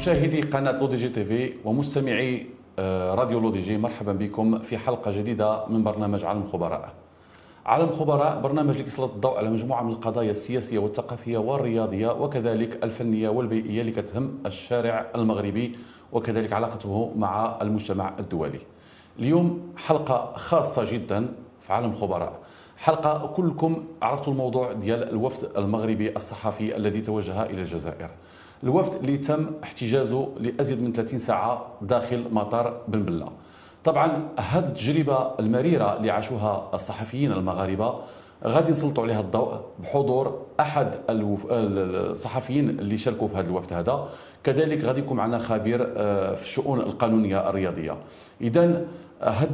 مشاهدي قناة لو دي جي تي في ومستمعي راديو لو دي جي، مرحبا بكم في حلقة جديدة من برنامج عالم خبراء. عالم خبراء برنامج اللي يسلط الضوء على مجموعة من القضايا السياسية والثقافية والرياضية وكذلك الفنية والبيئية اللي كتهم الشارع المغربي وكذلك علاقته مع المجتمع الدولي. اليوم حلقة خاصة جدا في عالم خبراء، حلقة كلكم عرفتوا الموضوع ديال الوفد المغربي الصحفي الذي توجه إلى الجزائر. الوفد اللي تم احتجازه لأزيد من 30 ساعة داخل مطار بن بلة. طبعا هذه التجربة المريرة اللي عاشوها الصحفيين المغاربة غادي نسلطوا عليها الضوء بحضور أحد الصحفيين اللي شاركوا في هذا الوفد هذا، كذلك غادي يكون معنا خبير في الشؤون القانونية الرياضية. إذن هذه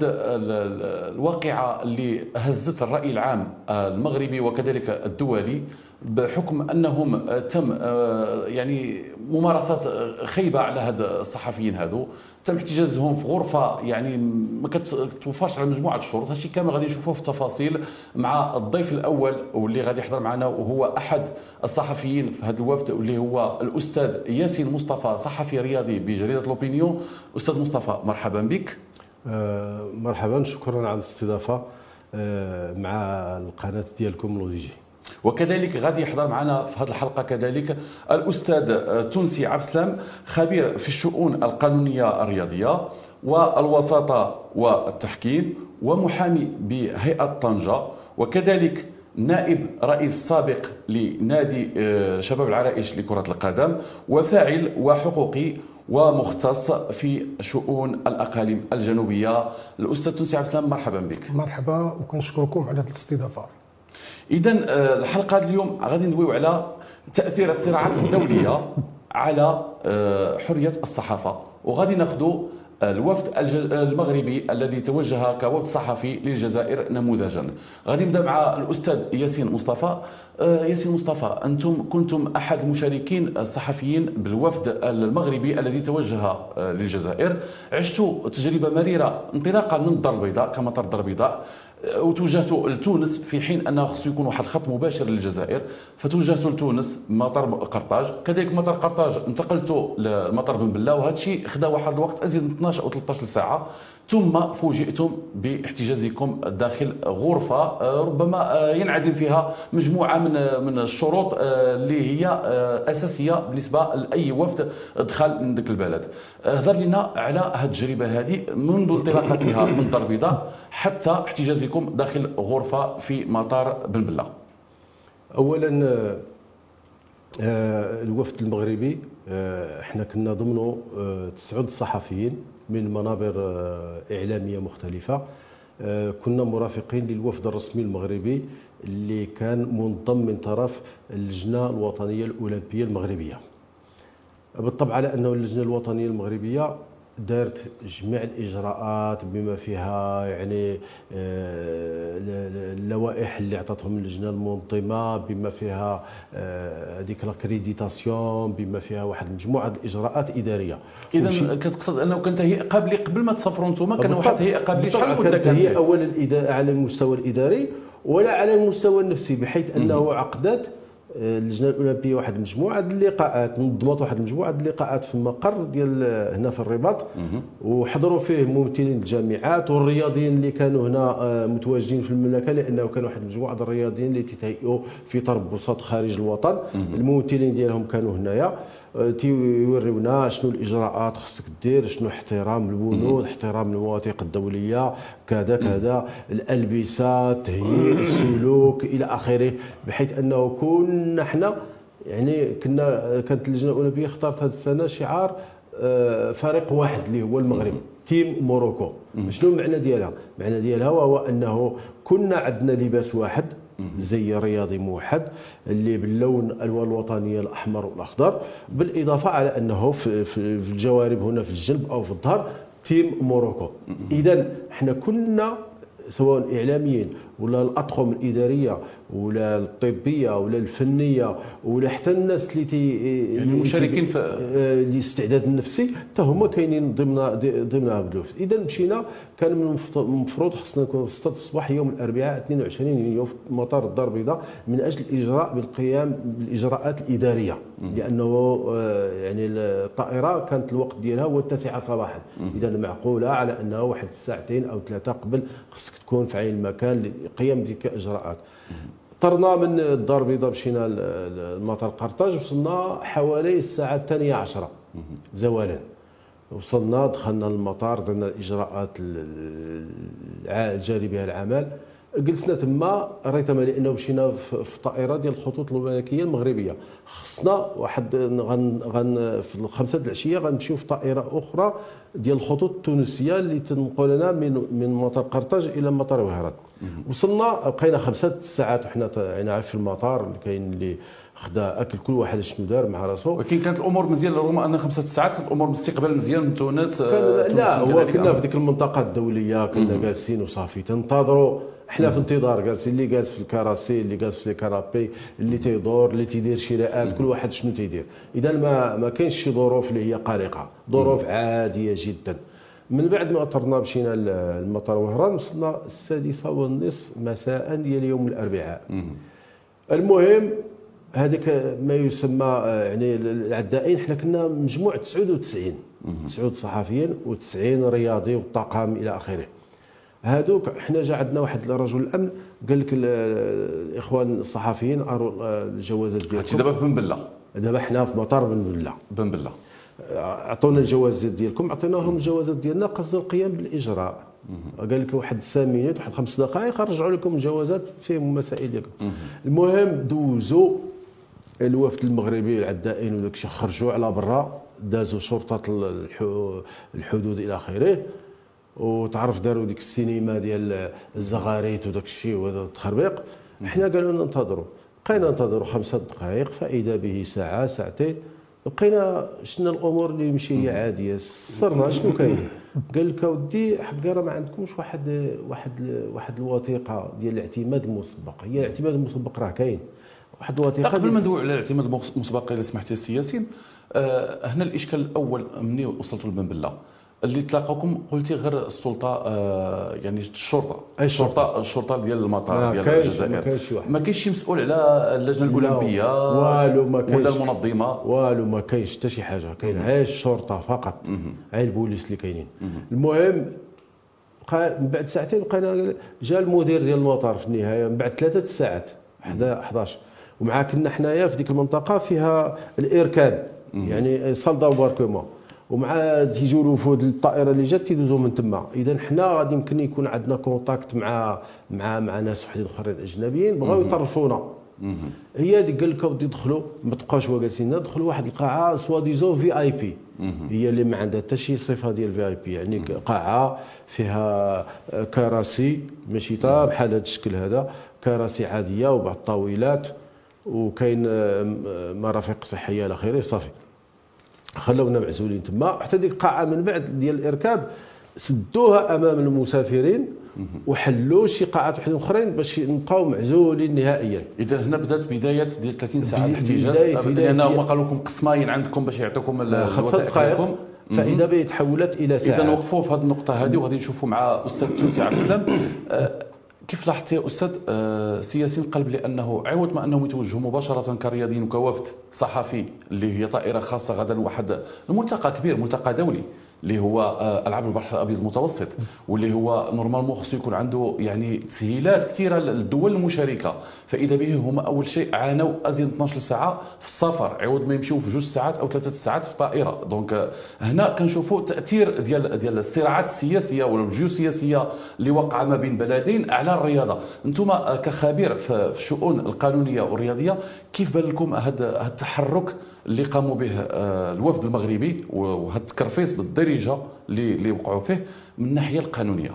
الواقعة اللي هزت الرأي العام المغربي وكذلك الدولي بحكم أنهم تم يعني ممارسات خيبة على هاد الصحفيين هادو، تم احتجازهم في غرفة يعني ما كتوفاش على مجموعة الشروط. هادشي كامل غادي نشوفوه في التفاصيل مع الضيف الأول واللي غادي يحضر معنا، وهو أحد الصحفيين في هذا الوفد واللي هو الأستاذ ياسين مصطفى، صحفي رياضي بجريدة لوبينيون. أستاذ مصطفى مرحبا بك. مرحبا، شكرا على الاستضافه مع القناه ديالكم لو دي جي. وكذلك غادي يحضر معنا في هذه الحلقه كذلك الاستاذ تونسي عبد السلام، خبير في الشؤون القانونيه الرياضيه والوساطه والتحكيم ومحامي بهيئه طنجه، وكذلك نائب رئيس سابق لنادي شباب العرائش لكره القدم وفاعل وحقوقي ومختص في شؤون الاقاليم الجنوبيه. الاستاذ تونسي عبد السلام مرحبا بك. مرحبا، وكنشكركم على هذه الاستضافه. اذا الحلقه اليوم غادي ندويو على تاثير الصراعات الدوليه على حريه الصحافه، وغادي ناخذوا الوفد المغربي الذي توجه كوفد صحفي للجزائر نموذجا. غادي نبدا مع الاستاذ ياسين مصطفى. ياسين مصطفى، انتم كنتم احد المشاركين الصحفيين بالوفد المغربي الذي توجه للجزائر، عشتوا تجربه مريره انطلاقا من الدار البيضاء كمطار الدار البيضاء، وتوجهتوا لتونس في حين انه خصو يكون واحد الخط مباشر للجزائر، فتوجهتوا لتونس مطار قرطاج، كذلك مطار قرطاج انتقلتوا لمطار بن بلة، وهذا الشيء خدا واحد الوقت ازيد من 12 او 13 ساعه، ثم فوجئتم باحتجازكم داخل غرفه ربما ينعدم فيها مجموعه من الشروط اللي هي اساسيه بالنسبه لاي وفد دخل من ذاك البلد. هضر لنا على هذه التجربه هذه منذ انطلاقتها من الدار البيضاء حتى احتجازكم داخل غرفه في مطار بن بلة. اولا الوفد المغربي احنا كنا ضمنه 9 صحفيين من منابر اعلاميه مختلفه، كنا مرافقين للوفد الرسمي المغربي اللي كان منضم من طرف اللجنه الوطنيه الاولمبيه المغربيه. بالطبع على انه اللجنه الوطنيه المغربيه دارت جميع الاجراءات بما فيها يعني اللوائح اللي عطاتهم اللجنه المنظمه، بما فيها هذيك لاكريديتاسيون، بما فيها واحد مجموعه الاجراءات اداريه. اذا كتقصد انه كان تهيئ قبل ما تسافروا انتم، كان واحد تهيئ قبل شحال من مده؟ كانت هي اولا على المستوى الاداري ولا على المستوى النفسي، بحيث انه عقدت اللجنه الاولمبيه واحد المجموعه ديال اللقاءات، نظمت واحد المجموعه ديال اللقاءات في المقر ديال هنا في الرباط، وحضروا فيه ممثلين الجامعات والرياضيين اللي كانوا هنا متواجدين في المملكه، لانه كان واحد المجموعه ديال الرياضيين اللي تيتهيئوا في تربصات خارج الوطن. الممثلين ديالهم كانوا هنايا تيوريونا شنو الاجراءات خصك دير، شنو احترام البنود، احترام المواثيق الدوليه، كذا كذا، الالبسه، التهيئ، السلوك الى اخره، بحيث انه كنا حنا يعني كانت اللجنه الاولمبيه اختارت هذه السنه شعار فريق واحد اللي هو المغرب، تيم موروكو. شنو المعنى ديالها؟ المعنى ديالها وهو انه كنا عندنا لباس واحد، زي رياضي موحد اللي باللون الالوان الوطنيه الاحمر والاخضر، بالاضافه على انه في الجوارب هنا في الجنب او في الظهر تيم موروكو. اذا احنا كنا سواء اعلاميين ولا الاطقم الاداريه ولا الطبيه ولا الفنيه ولا حتى الناس يعني المشاركين في الاستعداد النفسي حتى هما كاينين ضمن هذا الوفد. اذا مشينا، كان من المفروض خصنا نكون في 6 الصباح يوم الاربعاء 22 يونيو في مطار الدار البيضاء من اجل الاجراء بالقيام بالاجراءات الاداريه، لانه يعني الطائره كانت الوقت ديالها هو 9 صباحا. اذا معقوله على انه واحد ساعتين او 3 قبل خصك تكون في عين المكان للقيام بتلك الاجراءات. طرنا من الدار البيضاء مشينا لمطار قرطاج، وصلنا حوالي الساعه 12 زوالا. وصلنا دخلنا للمطار، درنا الاجراءات الجاري بها العمل، جلسنا تما ريتما لانه مشينا في طائره ديال الخطوط الملكيه المغربيه. خصنا واحد في 5 العشيه غنمشيو في طائره اخرى ديال الخطوط التونسيه اللي تنقلنا من مطار قرطاج الى مطار وهران. وصلنا بقينا 5 ساعات وحنا يعني في المطار، اللي كاين اللي خدا اكل كل واحد شنو دار مع راسو. ولكن كانت الامور مزيان، رغم ان 5 ساعات كانت الامور باستقبال مزيان من تونس. لا هو كنا في ديك المنطقه الدوليه، كنا جالسين وصافي تنتظروا. احنا في انتظار، جالسين اللي جالس في الكراسي، اللي جالس في الكرابي، اللي تيدور، اللي تيدير شراءات، كل واحد شنو تيدير. اذا ما كاينش شي ظروف اللي هي قلقه، ظروف عاديه جدا. من بعد ما اطرنا مشينا للمطار وهران، وصلنا 6:30 مساء ديال يوم الاربعاء. المهم هذاك ما يسمى يعني العدائين، حنا كنا مجموع 99 صحفيين و90 رياضي والطاقم الى اخره. هذوك حنا جا عندنا واحد رجل الامن قال لك الاخوان الصحفيين اروا الجوازات ديالكم. دابا في بن بله، دابا حنا في مطار بن بله عطونا الجوازات ديالكم، عطيناهم الجوازات ديالنا قصد القيام بالاجراء. قال لك واحد 5 مينوت، واحد 5 دقائق رجعوا لكم الجوازات فيهم المسائل ديالكم. المهم دوزوا الوفد المغربي العدائين وداك الشيء، خرجوا على برا، دازوا شرطه الحدود الى اخره، وتعرف داروا ديك السينما ديال الزغاريت وداك الشيء وهذا التخربيق. حنا قالوا لنا انتظروا، بقينا ننتظروا 5 دقائق، فاذا به ساعه ساعتين، بقينا شفنا الامور اللي ماشي هي عاديه. صرنا شنو كاين؟ قال لك اودي حق راه ما عندكمش واحد الوثيقه ديال الاعتماد المسبق. هي الاعتماد المسبق راه كاين واحد الوثيقه. قبل ما ندوي على الاعتماد المسبق اذا سمحتي السي ياسين، هنا الاشكال الاول ملي وصلتوا لبن بله اللي تلاقاكم، قلتي غير السلطه يعني الشرطه ديال المطار ديال الجزائر. ما كاينش شي مسؤول على اللجنه الاولمبيه والو، ما كاينش ولا المنظمه والو، ما كاينش حتى شي حاجه. كاين غير الشرطه فقط، غير البوليس اللي كاينين. المهم من بعد ساعتين بقينا، جا المدير ديال المطار في النهايه من بعد 3 ساعات 11، ومع كنا حنايا في ديك المنطقه فيها الاركان يعني صال دامباركمون، ومع تيجيو الوفود الطائره اللي جات تيدوزو من تما. اذا حنا غادي يمكن يكون عندنا كونتاكت مع ناس وحدين اخرين اجنبيين بغاو يطرفونا. هي ديك قال لك اودي دخلوا، ما تبقاوش جالسين، دخلوا واحد القاعه سوا ديزون في اي بي، هي اللي ما عندها حتى شي صفه ديال في اي بي، يعني قاعه فيها كراسي ماشي تا بحال هذا الشكل هذا، كراسي عاديه وبعض الطاولات، وكاين مرافق صحيه الى اخره. صافي خلونا معزولين تما حتى ديك القاعه. من بعد ديال الاركاب سدوها امام المسافرين وحلوا شي قاعات وحدين اخرين باش نبقاو معزولين نهائيا. اذا هنا بدات بدايه ديال 30 ساعه الاحتجاج، لان هما قالوا لكم قسماين عندكم باش يعطيكم الوثائق ديالكم، فاذا بيتحولت الى ساعه. اذا وقفوا في هذه النقطه هذه، وغادي نشوفوا مع استاذ التونسي عبد السلام. كيف لاحظتي يا استاذ سي ياسين قلب لانه عوض ما انهم يتوجهوا مباشره كرياضيين وكوفد صحفي اللي هي طائره خاصه غدا واحد الملتقى كبير، ملتقى دولي اللي هو العاب البحر الابيض المتوسط، واللي هو نورمالمون خصو يكون عنده يعني تسهيلات كثيره للدول المشاركه. فاذا به هما اول شيء عانوا ازيد 12 ساعه في السفر عوض ما يمشيو في 2 ساعات او 3 ساعات في طائره. دونك هنا كنشوفوا تاثير ديال الصراعات السياسيه ولا الجيوسياسيه اللي وقع ما بين بلدين على الرياضه. انتم كخبير في الشؤون القانونيه والرياضيه، كيف بان لكم هذا التحرك اللي قاموا به الوفد المغربي وهذا التكرفيس بالدرجه اللي وقعوا فيه من الناحيه القانونيه؟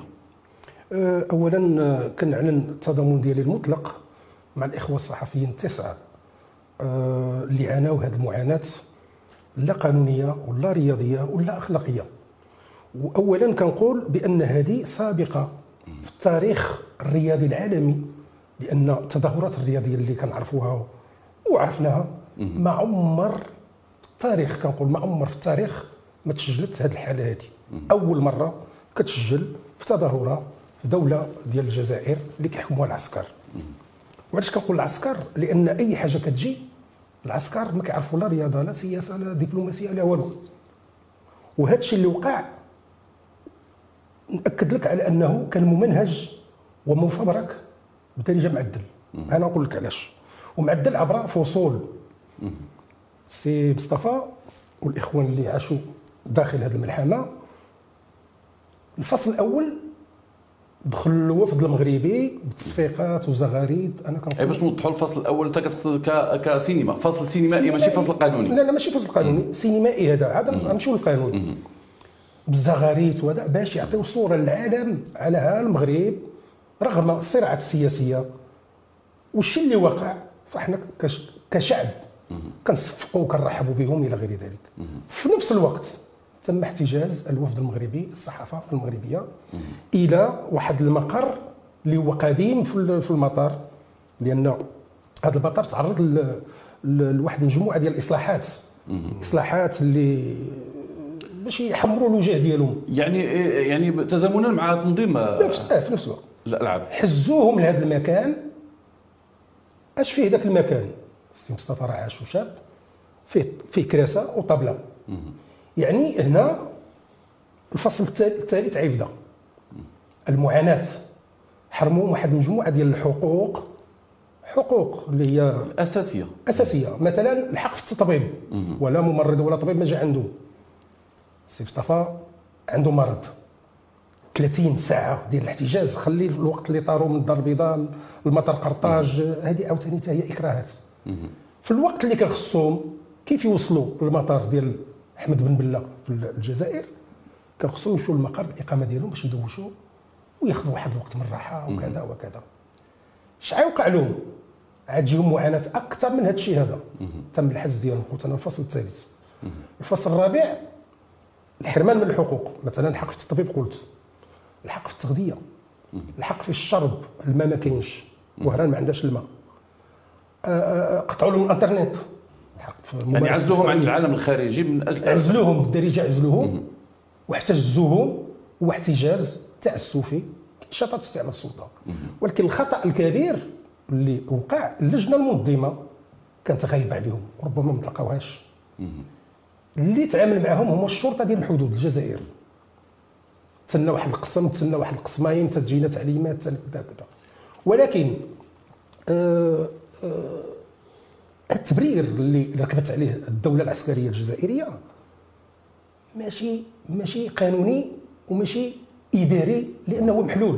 اولا كنعلن التضامن ديالي المطلق مع الاخوه الصحفيين 9 اللي عانوا هذه المعاناه، لا قانونيه ولا رياضيه ولا اخلاقيه. واولا كنقول بان هذه سابقه في التاريخ الرياضي العالمي، لان التظاهرات الرياضيه اللي كنعرفوها وعرفناها ما عمر في التاريخ، كنقول ما عمر في التاريخ ما تسجلت هذه الحاله هذه. اول مره كتسجل في تظاهره في دوله ديال الجزائر اللي كيحكموها العسكر. وعلاش كنقول العسكر؟ لان اي حاجه كتجي العسكر ما كيعرفوا لا رياضه لا سياسه لا دبلوماسيه لا والو. وهذا الشيء اللي وقع ناكد لك على انه كان ممنهج ومفبرك بدرجه معدل. انا نقول لك علاش. ومعدل عبر فصول سي مصطفى والاخوان اللي عاشوا داخل هذه الملحمه. الفصل الاول دخل الوفد المغربي بتصفيقات وزغاريد. انا كنقول باش نوضحوا الفصل الاول انت كتقصد كسينما، فصل سينمائي ماشي فصل قانوني. لا ماشي فصل قانوني، سينمائي هذا عاد نمشيو للقانون بالزغاريد وهذا باش يعطيو صوره للعالم على ها المغرب رغم الصراعات السياسيه والشيء اللي وقع. فاحنا كشعب كنصفقوا وكنرحبوا بهم الى غير ذلك. في نفس الوقت تم احتجاز الوفد المغربي الصحافه المغربيه الى واحد المقر اللي هو قديم في المطار، لان هذا المطار تعرض لواحد مجموعه ديال الاصلاحات اللي باش يحمروا الوجه ديالهم، يعني تزامنا مع تنظيم في نفس الوقت الالعاب حزوهم لهذا المكان. اش فيه ذاك المكان؟ السي مصطفى راه عاش وشاب، فيه كراسه وطابله. يعني هنا الفصل الثالث عيبدا المعاناه. حرموا واحد المجموعه ديال الحقوق اللي هي اساسيه، مثلا الحق في التطبيب. ولا ممرض ولا طبيب ما جا عنده. السي مصطفى عنده مرض 30 ساعه ديال الاحتجاز. خلي الوقت اللي طاروا من الدار البيضاء المطار قرطاج، هذه عاوتاني حتى هي اكراهات. في الوقت اللي كان خصهم كيف يوصلوا للمطار ديال احمد بن بله في الجزائر، كان خصهم يمشوا للمقر الاقامه ديالهم باش يدوشوا وياخذوا واحد الوقت من الراحه وكذا وكذا. شحال وقع لهم؟ عاد تجيهم معاناه اكثر من هذا الشيء هذا. تم الحجز ديالهم. قلت انا الفصل الثالث. الفصل الرابع الحرمان من الحقوق، مثلا الحق في التطبيب، قلت الحق في التغذيه، الحق في الشرب، الماء ما كاينش، وهران ما عندهاش الماء. قطعوا لهم الانترنت، يعني عزلوهم عن العالم الخارجي من اجل عزلوهم بالدارجه، عزلوهم واحتجزوهم. هو احتجاز تعسفي شطط استعمال السلطه. ولكن الخطا الكبير اللي وقع اللجنه المنظمه كانت غايبه عليهم، ربما ما تلقاوهاش. اللي تعامل معهم هما الشرطه ديال الحدود الجزائر. تسنى واحد القسم، تسنى واحد القسمين، تجينا تعليمات كذا كذا. ولكن التبرير اللي ركبت عليه الدوله العسكريه الجزائريه ماشي قانوني وماشي اداري، لانه محلول.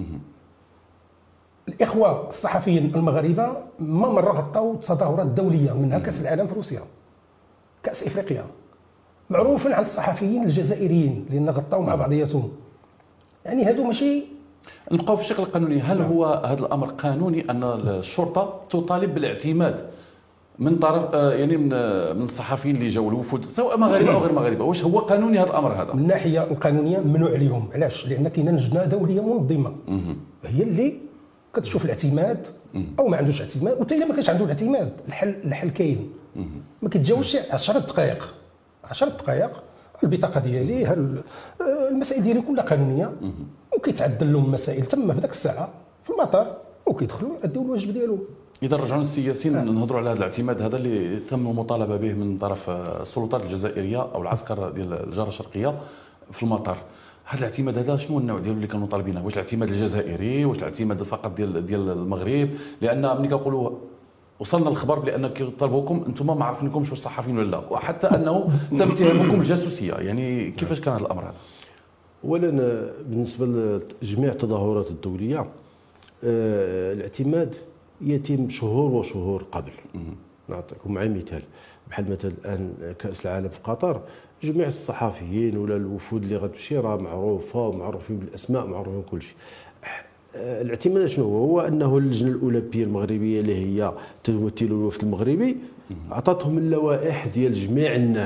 الاخوه الصحفيين المغاربه ما مره غطاو تظاهرات دوليه، منها كاس العالم في روسيا، كاس افريقيا، معروف عن الصحفيين الجزائريين لان غطاو مع بعضياتهم. يعني هادو ماشي نبقاو في الشق القانوني. هل هو هذا الامر قانوني ان الشرطه تطالب بالاعتماد من طرف يعني من الصحفيين اللي جاوا الوفود سواء مغاربه او غير مغاربه؟ واش هو قانوني هذا الامر هذا؟ من الناحيه القانونيه ممنوع عليهم. علاش؟ لان كاينه لجنه دوليه منظمه هي اللي كتشوف الاعتماد او ما عندوش اعتماد. وحتى الا ما كانش عنده الاعتماد الحل كاين. ما كيتجاوزش 10 دقائق البطاقه ديالي، المسائل ديالي كلها قانونيه، وكيتعدل لهم مسائل تما في ذاك الساعه في المطار، وكيدخلوا يؤديوا الواجب ديالهم. اذا رجعوا للسياسيين نهضروا على هذا الاعتماد هذا اللي تم المطالبه به من طرف السلطات الجزائريه او العسكر ديال الجاره الشرقيه في المطار. هذا الاعتماد هذا شنو النوع ديالو اللي كانوا طالبينه؟ واش الاعتماد الجزائري؟ واش الاعتماد فقط ديال المغرب؟ لان ملي كنقولوا وصلنا الخبر بان كيطالبوكم انتم ما عارفينكمش واش صحفيين ولا لا، وحتى انه تم اتهامكم بالجاسوسيه. يعني كيفاش كان هذا الامر هذا؟ اولا بالنسبه لجميع التظاهرات الدوليه الاعتماد يتم شهور وشهور قبل. نعطيكم مع مثال، بحال مثلا الان كاس العالم في قطر، جميع الصحفيين ولا الوفود اللي غتمشي راه معروفه ومعروفين بالاسماء معروفين كل شيء. الاعتماد شنو هو؟ انه اللجنه الاولمبيه المغربيه اللي هي تمثل الوفد المغربي اعطتهم اللوائح ديال جميع الناس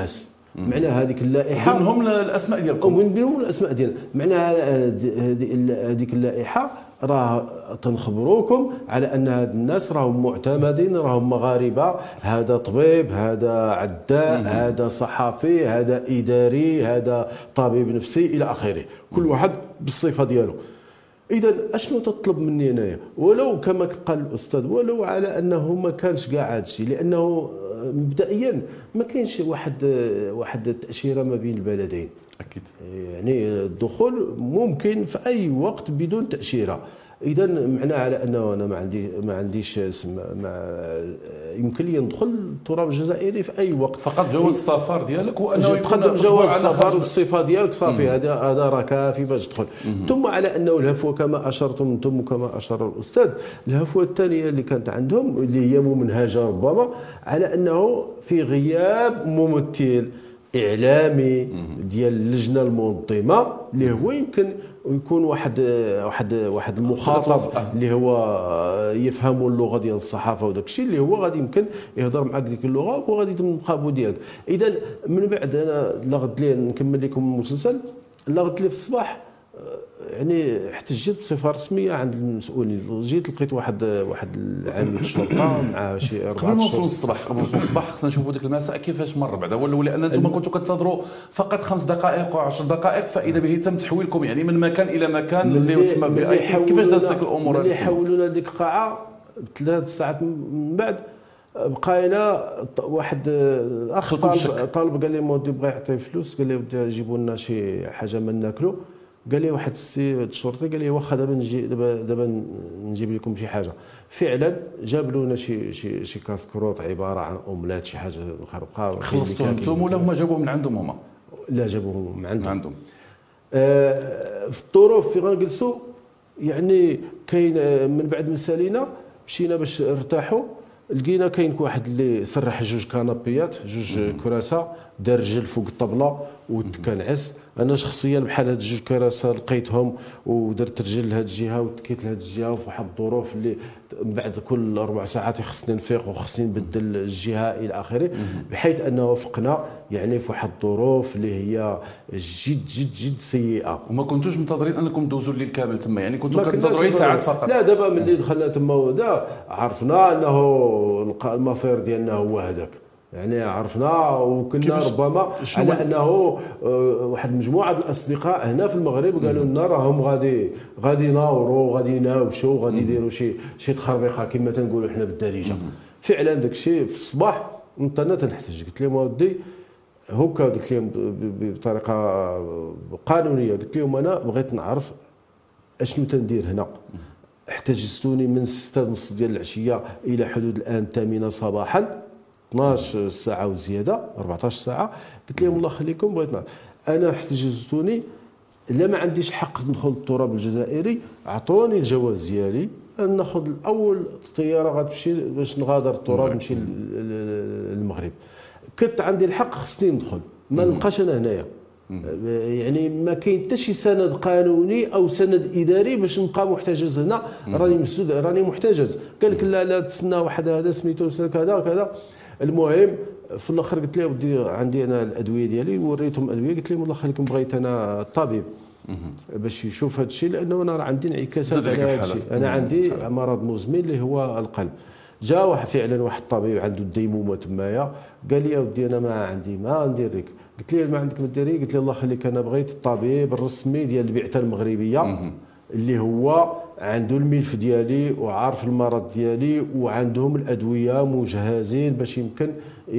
معناها هذيك اللائحه منهم الاسماء ديالكم، ومن بينهم الاسماء ديالنا، معناها هذيك اللائحه راه تنخبروكم على ان هاد الناس راهم معتمدين، راهم مغاربه، هذا طبيب، هذا عداء، هذا صحفي، هذا اداري، هذا طبيب نفسي الى اخره، كل واحد بالصفه ديالو. اذا اشنو تطلب مني انايا؟ ولو كما قال الاستاذ، ولو على انه ما كانش كاع هذا الشيء، لانه مبدئيا ما كاينش واحد التاشيره ما بين البلدين. اكيد يعني الدخول ممكن في اي وقت بدون تاشيره. اذا معناه على انه انا ما عنديش يمكن لي ندخل التراب الجزائري في اي وقت، فقط جواز السفر ديالك وانه تقدم جواز السفر والصفه ديالك صافي، هذا راه كافي باش تدخل. ثم على انه الهفوه كما اشرتم انتم وكما اشار الاستاذ، الهفوه الثانيه اللي كانت عندهم اللي هي ممنهجه ربما على انه في غياب ممثل اعلامي ديال اللجنه المنظمه اللي هو يمكن يكون واحد المخاطب اللي هو يفهم اللغه ديال الصحافه وداك الشيء اللي هو غادي يمكن يهضر معك ديك اللغه وغادي يتم المقابله ديالك. اذا من بعد انا لغد لي نكمل لكم المسلسل، لغد لي في الصباح يعني احتجت بصفه رسميه عند المسؤولين، جيت لقيت واحد العامل الشرطه مع شي 4 قبل ما نوصلوا للصباح، خصنا نشوفوا ديك المساء كيفاش مر بعدا، ولان انتم كنتوا كتنتظروا فقط 5 دقائق و10 دقائق فاذا به تم تحويلكم يعني من مكان الى مكان اللي يسمى في اي. كيفاش دازت ديك الامور؟ اللي حولونا ديك القاعه 3 ساعات من بعد بقينا واحد اخ طالب قال لي مودي بغى يعطي فلوس، قال لي ودي جيبوا لنا شي حاجه ما ناكلوا، قال لي واحد السي الشرطي قال لي واخا دابا نجيب لكم شي حاجه. فعلا جاب لنا شي كاسكروط عباره عن اوملات شي حاجه مخربقه. خلصتوا انتم ولا هما جابوه من عندهم هما؟ لا جابوه من عندهم. في الظروف في غنجلسوا يعني كاين من بعد ما سالينا مشينا باش نرتاحوا، لقينا كاين واحد اللي سرح 2 كنابيات 2 كراسه، دار رجل فوق الطبله وتكنعس. انا شخصيا بحال هاد 2 كراسه لقيتهم ودرت رجل لهاد الجهه وتكيت لهاد الجهه، وفي واحد الظروف اللي بعد كل 4 ساعات خصني نفيق وخصني نبدل الجهه الى اخره، بحيث انه وفقنا يعني في واحد الظروف اللي هي جد جد جد سيئه. وما كنتوش منتظرين انكم دوزوا الليل كامل تما؟ يعني كنتوا كتنتظروا ساعات فقط؟ لا دابا ملي دخلنا تما ودا عرفنا انه المصير ديالنا هو هذاك، يعني عرفنا وكنا ربما على انه واحد مجموعه الاصدقاء هنا في المغرب قالوا لنا راهم غادي يناوروا غادي يناوشوا غادي يديروا شي تخربيقه كما تنقولوا حنا بالدارجه. فعلا داك الشيء في الصباح انا تنحتاج، قلت لهم ودي هكا، قلت لهم بطريقه قانونيه، قلت لهم انا بغيت نعرف اشنو تندير هنا. احتجزتوني من 6:30 ديال العشيه الى حدود الان 8 صباحا، 12 ساعه وزياده 14 ساعه. قلت لهم الله يخليكم بغيت نعرف، انا احتجزتوني لا ما عنديش حق ندخل التراب الجزائري، اعطوني الجواز ديالي ناخذ الاول طياره غتمشي باش نغادر التراب نمشي للمغرب، كنت عندي الحق خصني ندخل، ما نبقاش انا هنايا. يعني ما كاين حتى شي سند قانوني او سند اداري باش نبقى محتجز هنا، راني مسدود راني محتجز. قال لك لا تسنى واحد هذا سميتو كذا كذا. المهم في الاخر قلت له ودي عندي انا الادويه ديالي، وريتهم الادويه، قلت لهم الله يخليكم بغيت انا الطبيب باش يشوف هذا الشيء، لانه انا عندي انعكاسات على هذا الشيء، انا عندي مرض مزمن اللي هو القلب. جا واحد فعلا واحد الطبيب عنده الديمومه تمايا، قال لي يا ودي انا ما عندي ما ندير لك. قلت له ما عندك ما ديري؟ قلت له الله يخليك انا بغيت الطبيب الرسمي ديال البعثه المغربيه اللي هو عنده الملف ديالي وعارف المرض ديالي وعندهم الادويه مجهزين باش يمكن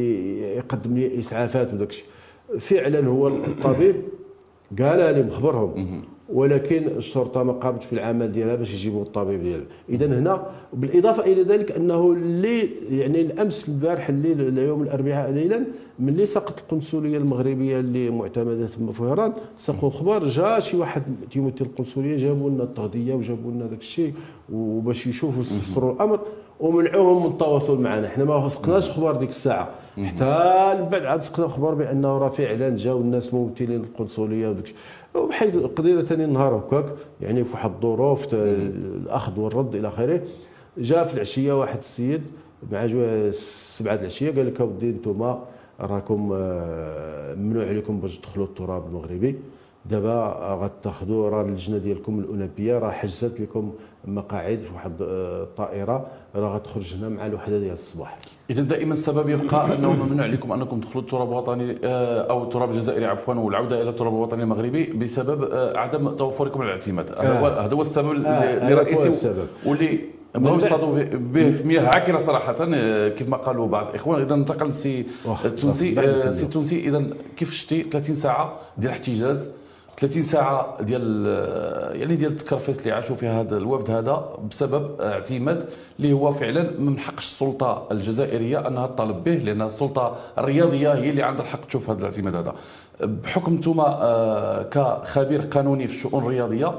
يقدم لي اسعافات وداك الشيء. فعلا هو الطبيب قال لي مخبرهم، ولكن الشرطه ما قامتش بالعمل ديالها باش يجيبوا الطبيب ديالها. اذا هنا بالاضافه الى ذلك انه اللي يعني الامس البارح الليل اليوم الاربعاء ليلا ملي سقط القنصليه المغربيه اللي معتمده تما في وهران، ساقوا الخبر جا شي واحد تيمثل القنصليه، جابوا لنا التغذيه وجابوا لنا داك الشيء وباش يشوفوا يستفسروا الامر، ومنعوهم من التواصل معنا. حنا ما سقناش خبر ديك الساعه، حتى بعد عاد سقنا خبر بانه راه فعلا جاوا الناس ممثلين القنصليه وداك الشيء، وبحيث قضينا ثاني نهار هكاك يعني في واحد الظروف الاخذ والرد الى اخره. جاء في العشيه واحد السيد مع 7 العشيه قال لك اودي انتم راكم ممنوع عليكم باش تدخلوا التراب المغربي. دابا غتاخذوا راه اللجنه ديالكم الاولمبيه راه حجزت لكم مقاعد في واحد الطائره راه غتخرج هنا مع الوحده ديال الصباح. اذا دائما السبب يبقى انه ممنوع عليكم انكم تدخلوا التراب الوطني او التراب الجزائري عفوا، والعوده الى التراب الوطني المغربي بسبب عدم توفركم الاعتماد. هذا هو السبب اللي رئيسي واللي بغاو يصطادوا به في مياه عاكره صراحه كيف ما قالوا بعض الاخوان. اذا انتقل السي التونسي اذا كيف شتي 30 ساعه ديال احتجاز، 30 ساعه ديال يعني ديال التكرفيس اللي عاشوا فيها هذا الوفد هذا بسبب اعتماد اللي هو فعلا من حقش السلطه الجزائريه انها تطالب به، لان السلطه الرياضيه هي اللي عندها الحق تشوف هذا الاعتماد هذا. بحكم انتم كخبير قانوني في الشؤون الرياضيه،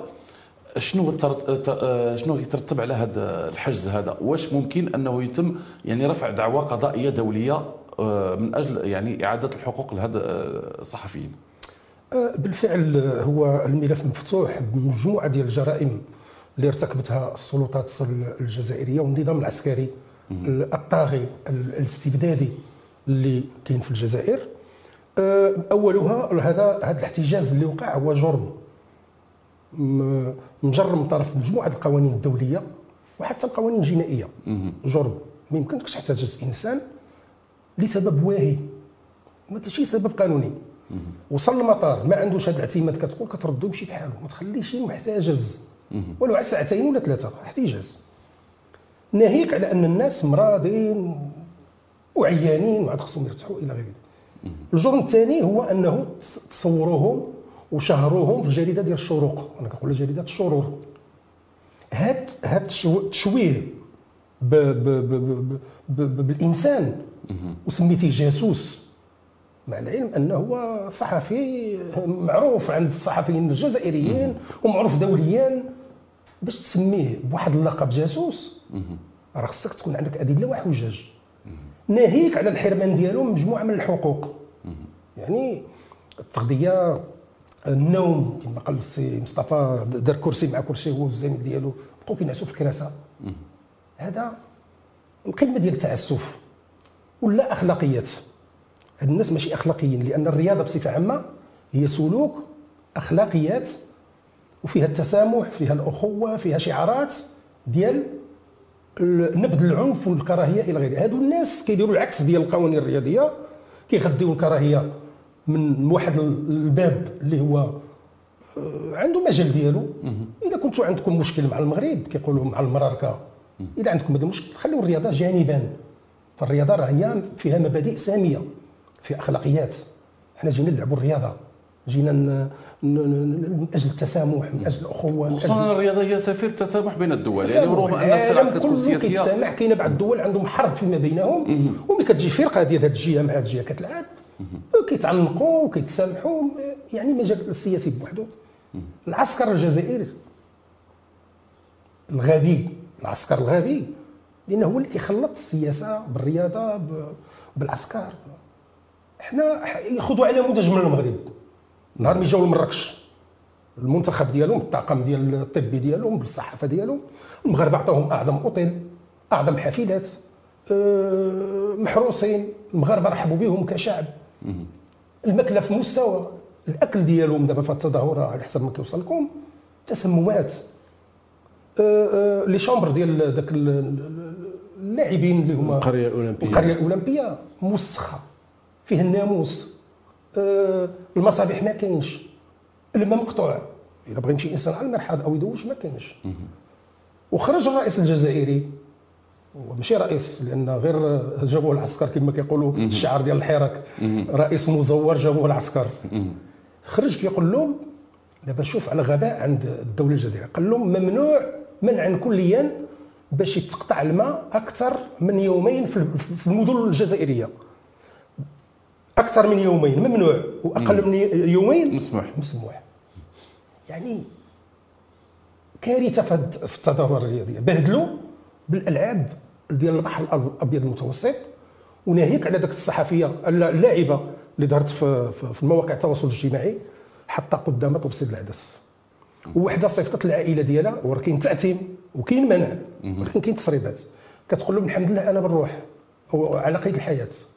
شنو يترتب على هذا الحجز هذا؟ واش ممكن انه يتم يعني رفع دعوى قضائيه دوليه من اجل يعني اعاده الحقوق لهذا الصحفيين؟ بالفعل هو الملف مفتوح بمجموعه ديال الجرائم اللي ارتكبتها السلطات الجزائريه والنظام العسكري الطاغي الاستبدادي اللي كاين في الجزائر. اولها هذا الاحتجاز اللي وقع هو جرم مجرم من طرف مجموعه القوانين الدوليه وحتى القوانين الجنائيه. جرم ما يمكنكش تحتجز انسان لسبب واهي، ما كاينش شي سبب قانوني. وصل المطار ما عندوش هذا الاعتماد، كتقول كتردو يمشي بحاله، ما تخليش محتجز ولو على ساعتين ولا ثلاثه احتجاز. ناهيك على ان الناس مرضين وعيانين وعاد خصهم يرتاحوا الى غير ذلك. الجرم الثاني هو انه تصوروهم وشهروهم في الجريده ديال الشروق، انا كنقول جريده الشرور. هاد التشويه بالانسان وسميتيه جاسوس، مع العلم انه هو صحفي معروف عند الصحفيين الجزائريين ومعروف دوليا. باش تسميه بواحد اللقب جاسوس راه خصك تكون عندك ادله وحجج، ناهيك على الحرمان ديالو من مجموعه من الحقوق. يعني التغذيه، النوم، كما قال السي مصطفى دار كرسي مع كرسي هو والزميل ديالو بقاو كينعسوا في الكراسه. هذا القمه ديال التعسف ولا اخلاقيات. هاد الناس ماشي اخلاقيين، لان الرياضه بصفه عامه هي سلوك اخلاقيات وفيها التسامح، فيها الاخوه، فيها شعارات ديال نبذ العنف والكراهيه الى غيره. هادو الناس كيديروا العكس ديال القوانين الرياضيه، كيغذيو الكراهيه من واحد الباب اللي هو عنده مجال ديالو. اذا كنتوا عندكم مشكل مع المغرب كيقولوا مع المراركه، اذا عندكم هذا المشكل خليوا الرياضه جانبا. فالرياضه راه هي فيها مبادئ ساميه، في اخلاقيات. حنا جينا نلعبوا الرياضه، جينا من اجل التسامح، من اجل الاخوه، خصوصا الرياضه هي سفير التسامح بين الدول. يعني رغم ان الصراعات كتكون سياسيه كيتسامح، كاينه بعض الدول عندهم حرب فيما بينهم وملي كتجي فرقه ديال هذه الجهه مع هذه الجهه كتلعب كيتعنقوا وكيتسامحوا. يعني مجال السياسي بوحده. العسكر الجزائري الغبي، العسكر الغبي، لانه هو اللي كيخلط السياسه بالرياضه بالعسكر. حنا ياخذوا على نموذج من المغرب. نهار ملي جاوا لمراكش المنتخب ديالهم، الطاقم ديال الطبي ديالهم بالصحافه ديالهم، المغاربه عطاوهم اعظم اوتيل، اعظم حافلات، محروسين. المغاربه رحبوا بهم كشعب. الماكله في مستوى، الاكل ديالهم دابا في التظاهره على حسب ما كيوصل لكم تسممات. لي شامبر ديال داك اللاعبين اللي هما القريه الاولمبيه موسخه، فيه الناموس. المصابيح ما كاينش، الماء مقطوع. الا بغى يمشي انسان على المرحاض او يدوش ما كاينش. وخرج الرئيس الجزائري، وماشي رئيس لان غير جابوه العسكر كما كيقولوا الشعار ديال الحراك، رئيس مزور جابوه العسكر. خرج كيقول لهم دابا شوف على غباء عند الدوله الجزائريه، قال لهم ممنوع منعا كليا باش يتقطع الماء اكثر من يومين في المدن الجزائريه. اكثر من يومين ممنوع، واقل من يومين مسموح. يعني كارثه في التظاهره الرياضيه. بهدلوا بالالعاب ديال البحر الابيض المتوسط. وناهيك على ذاك الصحفيه اللاعبه اللي ظهرت في مواقع التواصل الاجتماعي حتى قدام توصيل العدس، ووحده صيفطت العائله ديالها، وراه كاين تأتيم وكاين منع ولكن كاين تسريبات، كتقول لهم الحمد لله انا بالروح على قيد الحياه.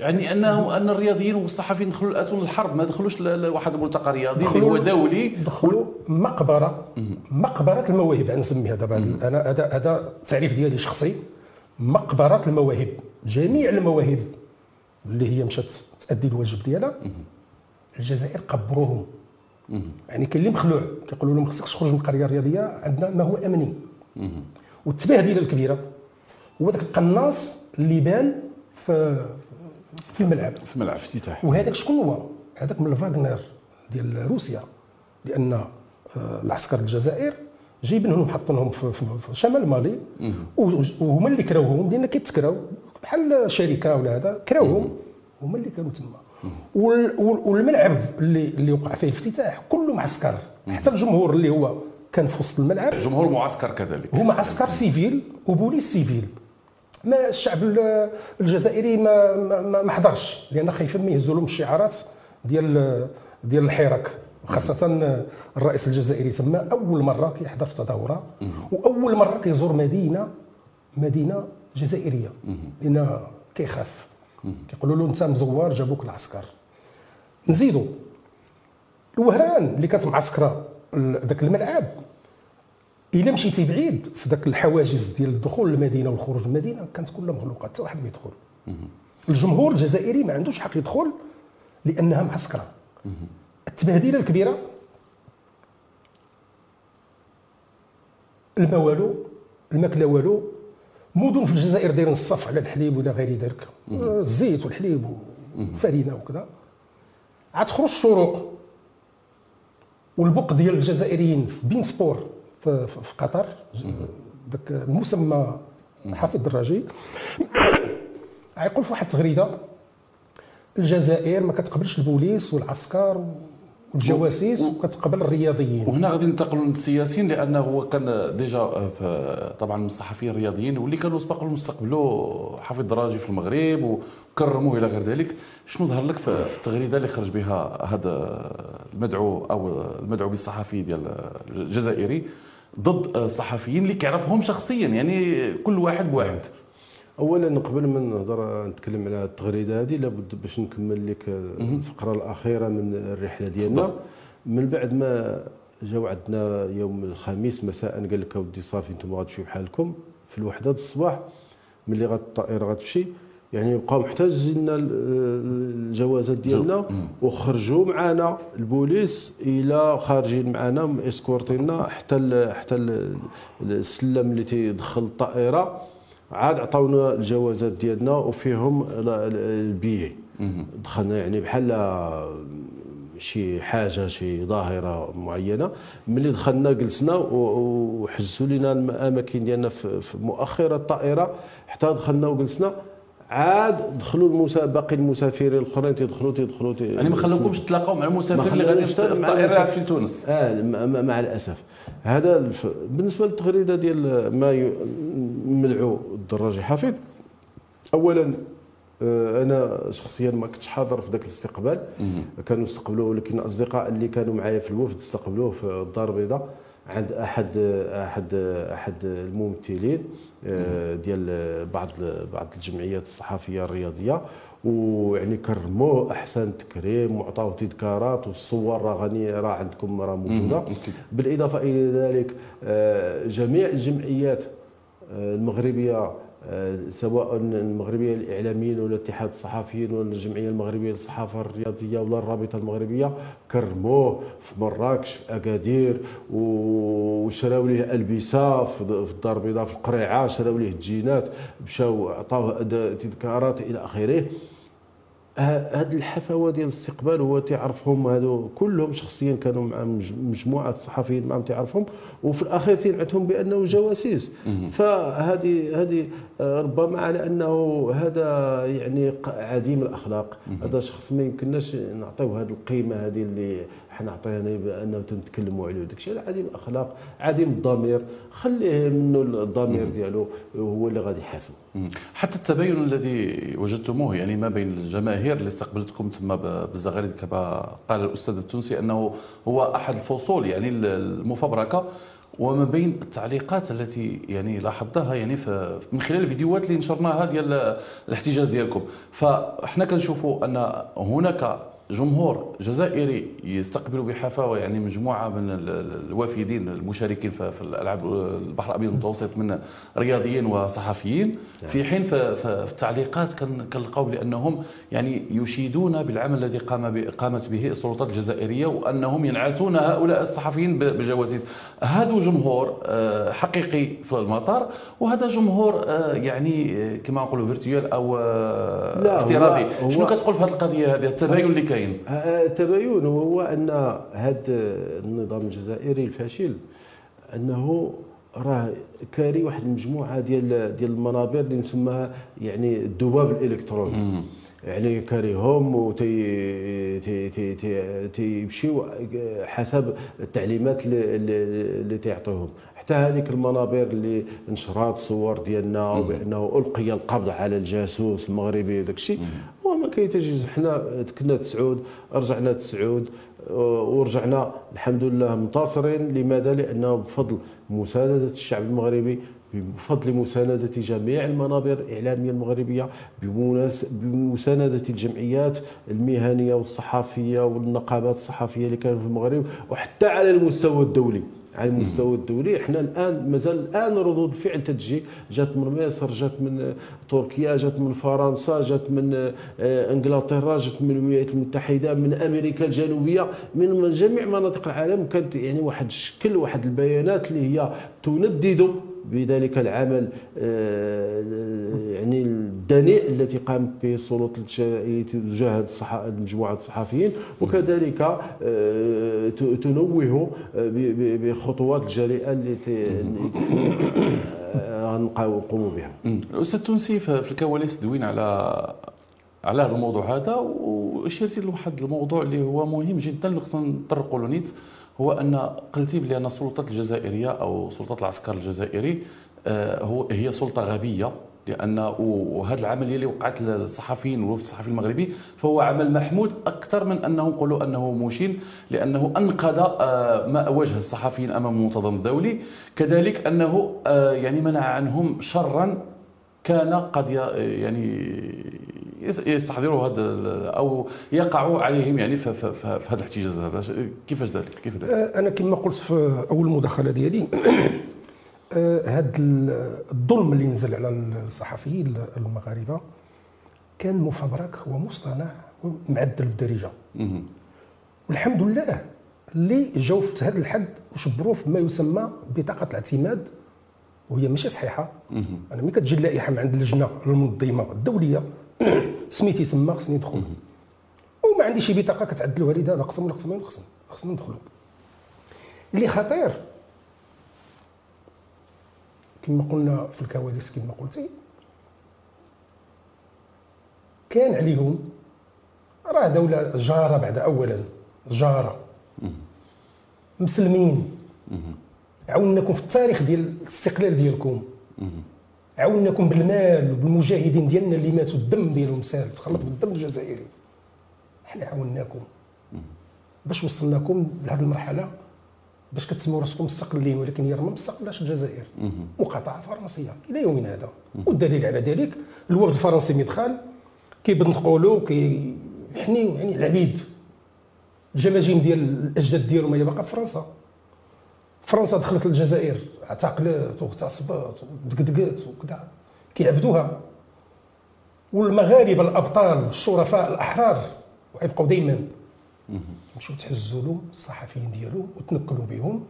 يعني ان الرياضيين والصحفيين دخلوا الاتون للحرب، ما دخلوش لواحد الملتقى رياضي اللي هو دولي، دخلوا مقبره المواهب نسميها دابا. انا هذا التعريف ديالي شخصي، مقبره المواهب. جميع المواهب اللي هي مشات تأدي الواجب ديالها الجزائر قبروهم. يعني كاين اللي مخلوع كيقولوا له ما خصكش تخرج من القريه الرياضيه، عندنا ما هو امني. والتباهدله الكبيره هو ذاك القناص اللي بان في الملعب، افتتاح. وهذاك شكون هو؟ هذاك من الفاغنر ديال روسيا، لان العسكر الجزائر جايبينهم حاطينهم في شمال مالي، وهما اللي كراوهم، لان كيتكراو بحال شركه ولا هذا، كراوهم هما اللي كانوا تما. والملعب اللي وقع فيه الافتتاح كله معسكر، حتى الجمهور اللي هو كان في وسط الملعب جمهور معسكر كذلك، هما عسكر سيفيل وبوليس سيفيل. ما الشعب الجزائري ما حضرش، لان خايفين ما يهزوا لهم الشعارات ديال الحراك، وخاصه الرئيس الجزائري تما اول مره كيحضر في تظاهره، واول مره كيزور مدينه جزائريه، لان كيخاف. كيقولوا له انت مزور، جابوك العسكر. نزيدوا الوهران اللي كانت معسكره ذاك الملعب، الا مشيتي بعيد في ذاك الحواجز ديال الدخول للمدينه والخروج من المدينه كانت كلها مغلوقه، حتى واحد ما يدخل. الجمهور الجزائري ما عندوش حق يدخل لانها معسكره. التبهديله الكبيره، الماء والو، الماكله والو. مدن في الجزائر دايرين الصف على الحليب ولا غير ذلك، الزيت والحليب والفرينه وكذا. عاد تخرج الشروق والبوق ديال الجزائريين في بين سبور في قطر، ذاك المسمى حافظ الدراجي، غيقول في واحد التغريده الجزائر ما كتقبلش البوليس والعسكر والجواسيس وكتقبل الرياضيين. وهنا غادي ننتقلوا للسياسيين، لانه هو كان ديجا طبعا من الصحفيين الرياضيين واللي كانوا سبق لهم استقبلوا حافظ الدراجي في المغرب وكرموه الى غير ذلك. شنو ظهر لك في التغريده اللي خرج بها هذا المدعو بالصحفي ديال الجزائري ضد الصحفيين اللي كيعرفهم شخصيا، يعني كل واحد بواحد؟ اولا قبل ما نهضر نتكلم على التغريده هذه لابد باش نكمل لك الفقره الاخيره من الرحله ديالنا. من بعد ما جاو عندنا يوم الخميس مساء قال لك اودي صافي انتم غتمشيو بحالكم في الوحده الصباح، ملي الطائره غتمشي يعني بقاو محتاجين الجوازات ديالنا وخرجوا معنا البوليس الى خارجين معنا اسكورتينا حتى السلم اللي تيدخل الطائره. عاد عطاونا الجوازات ديالنا وفيهم البيي. دخلنا يعني بحال شي حاجه شي ظاهره معينه. ملي دخلنا جلسنا وحجزوا لنا الاماكن ديالنا في مؤخره الطائره حتى دخلنا وجلسنا. عاد دخلوا باقي المسافرين الاخرين تيدخلوا يعني ما خلوكمش تلاقاو مع المسافر اللي غادي في الطائره في تونس؟ مع الاسف. هذا بالنسبه للتغريده ديال ما مدعو الدراجي حفيظ. اولا انا شخصيا ما كنتش حاضر في ذاك الاستقبال، كانوا استقبلوه، ولكن الاصدقاء اللي كانوا معايا في الوفد استقبلوه في الدار البيضاء عند احد الممثلين ديال بعض الجمعيات الصحفيه الرياضيه، ويعني كرموه احسن تكريم وعطاوه تذكارات، والصور راه عندكم موجوده. بالاضافه الى ذلك جميع الجمعيات المغربيه سواء المغربيه للاعلاميين ولا اتحاد الصحفيين ولا الجمعيه المغربيه للصحافه الرياضيه ولا الرابطه المغربيه كرموه في مراكش في اكادير، وشراو ليه البسه في الدار البيضاء في القريعه، شراو ليه الجينات، مشاو عطاوه تذكارات الى اخره. هاد الحفاوه ديال الاستقبال هو تعرفهم هادو كلهم شخصيا، كانوا مع مجموعه الصحفيين معهم تعرفهم، وفي الاخير تنعتهم بانه جواسيس. فهذه ربما على انه هذا يعني عديم الاخلاق، هذا شخص ما يمكنناش نعطيوه هذه القيمه هذه اللي حنا عطينا بانه تنتكلموا عليه. داك الشيء عديم الاخلاق، عديم الضمير، خليه منه الضمير ديالو هو اللي غادي يحاسبه. حتى التباين الذي وجدتموه يعني ما بين الجماهير اللي استقبلتكم تما بالزغاريد كما قال الاستاذ التونسي انه هو احد الفصول يعني المفبركه، وما بين التعليقات التي يعني لاحظناها يعني من خلال الفيديوهات اللي نشرناها ديال الاحتجاج ديالكم، فاحنا كنشوفوا ان هناك جمهور جزائري يستقبل بحفاوه يعني مجموعه من الوافدين المشاركين في الالعاب البحر الابيض المتوسط من رياضيين وصحفيين، في حين في التعليقات كنلقاو بانهم يعني يشيدون بالعمل الذي قامت به السلطات الجزائريه، وانهم ينعتون هؤلاء الصحفيين بالجواسيس. هذا جمهور حقيقي في المطار، وهذا جمهور يعني كما نقولوا فيرتوال او افتراضي. شنو كتقول في هذه القضيه هذه، التباين اللي كاين؟ التباين هو ان هذا النظام الجزائري الفاشل انه راه كاري واحد المجموعه ديال المنابر اللي نسميها يعني الذباب الالكتروني، يعني كاريهم وتيمشيو حسب التعليمات اللي تيعطيهم. حتى هذيك المنابر اللي نشرات صور ديالنا وبانه القي القبض على الجاسوس المغربي وداك الشيء، وما كيتجيز. حنا كنا تسعود، رجعنا تسعود، ورجعنا الحمد لله منتصرين. لماذا؟ لانه بفضل مسانده الشعب المغربي، بفضل مساندة جميع المنابر الإعلامية المغربية، بمساندة الجمعيات المهنية والصحفية والنقابات الصحفية اللي كانوا في المغرب، وحتى على المستوى الدولي. على المستوى الدولي احنا الان مازال الان ردود فعل تجي، جات من مصر، جات من تركيا، جات من فرنسا، جات من انجلترا، جات من الولايات المتحده، من امريكا الجنوبيه، من جميع مناطق العالم. كانت يعني واحد الشكل، واحد البيانات اللي هي تندد بذلك العمل يعني الدنيء التي قامت به السلطات تجاه مجموعه الصحفيين، وكذلك تنوه بخطوات الجريئه التي غنقوموا بها. الاستاذ تونسي في الكواليس دوين على هذا الموضوع هذا، واشرتي لواحد الموضوع اللي هو مهم جدا اللي خصنا نطرقوا له نيت، هو ان قلتي بان السلطات الجزائريه او سلطات العسكر الجزائري هي سلطه غبيه، لان وهذا العمل اللي وقعت للصحفيين والوفد الصحفي المغربي فهو عمل محمود اكثر من انه نقولوا انه مشين، لانه انقذ ما واجه الصحفيين امام المنتظم الدولي، كذلك انه يعني منع عنهم شرا كان قد يعني يستحضروا هذا او يقعوا عليهم يعني في هذا الاحتجاز هذا. كيفاش ذلك؟ انا كما قلت في اول مداخله ديالي هذا الظلم اللي نزل على الصحفيين المغاربه كان مفبرك ومصطنع ومعدل بالدارجه، والحمد لله اللي جاوا في هذا الحد وشبروا في ما يسمى بطاقه الاعتماد، وهي ماشي صحيحه. انا ملي كتجي اللائحه من عند اللجنه المنظمه الدوليه سميتي تما خصني ندخل، وما عنديش شي بطاقه كتعدلوها لي دابا قسم ولا قسمين خصنا ندخلوا. اللي خطير كما قلنا في الكواليس كما قلتي، كان عليهم راه دوله جاره بعد اولا جاره مسلمين، عاوناكم في التاريخ ديال الاستقلال ديالكم، عاوناكم بالمال وبالمجاهدين ديالنا اللي ماتوا، الدم ديالهم سال تخلط بالدم الجزائري. حنا عاوناكم باش وصلناكم لهذه المرحله، باش كتسموا راسكم مستقلين، ولكن هي ما مستقلاش الجزائر، مقاطعه فرنسيه الى يومنا هذا. والدليل على ذلك الوفد الفرنسي مدخل كيبنطقوا له كيحنيو يعني العبيد، الجماجم ديال الاجداد ديالهم هي باقا في فرنسا. فرنسا دخلت للجزائر اعتقلت واغتصبت ودقدقات وكذا، كيعبدوها. والمغاربه الابطال الشرفاء الاحرار ويبقوا دائما مشيو تحزوا لهم الصحفيين ديالهم وتنكلوا بهم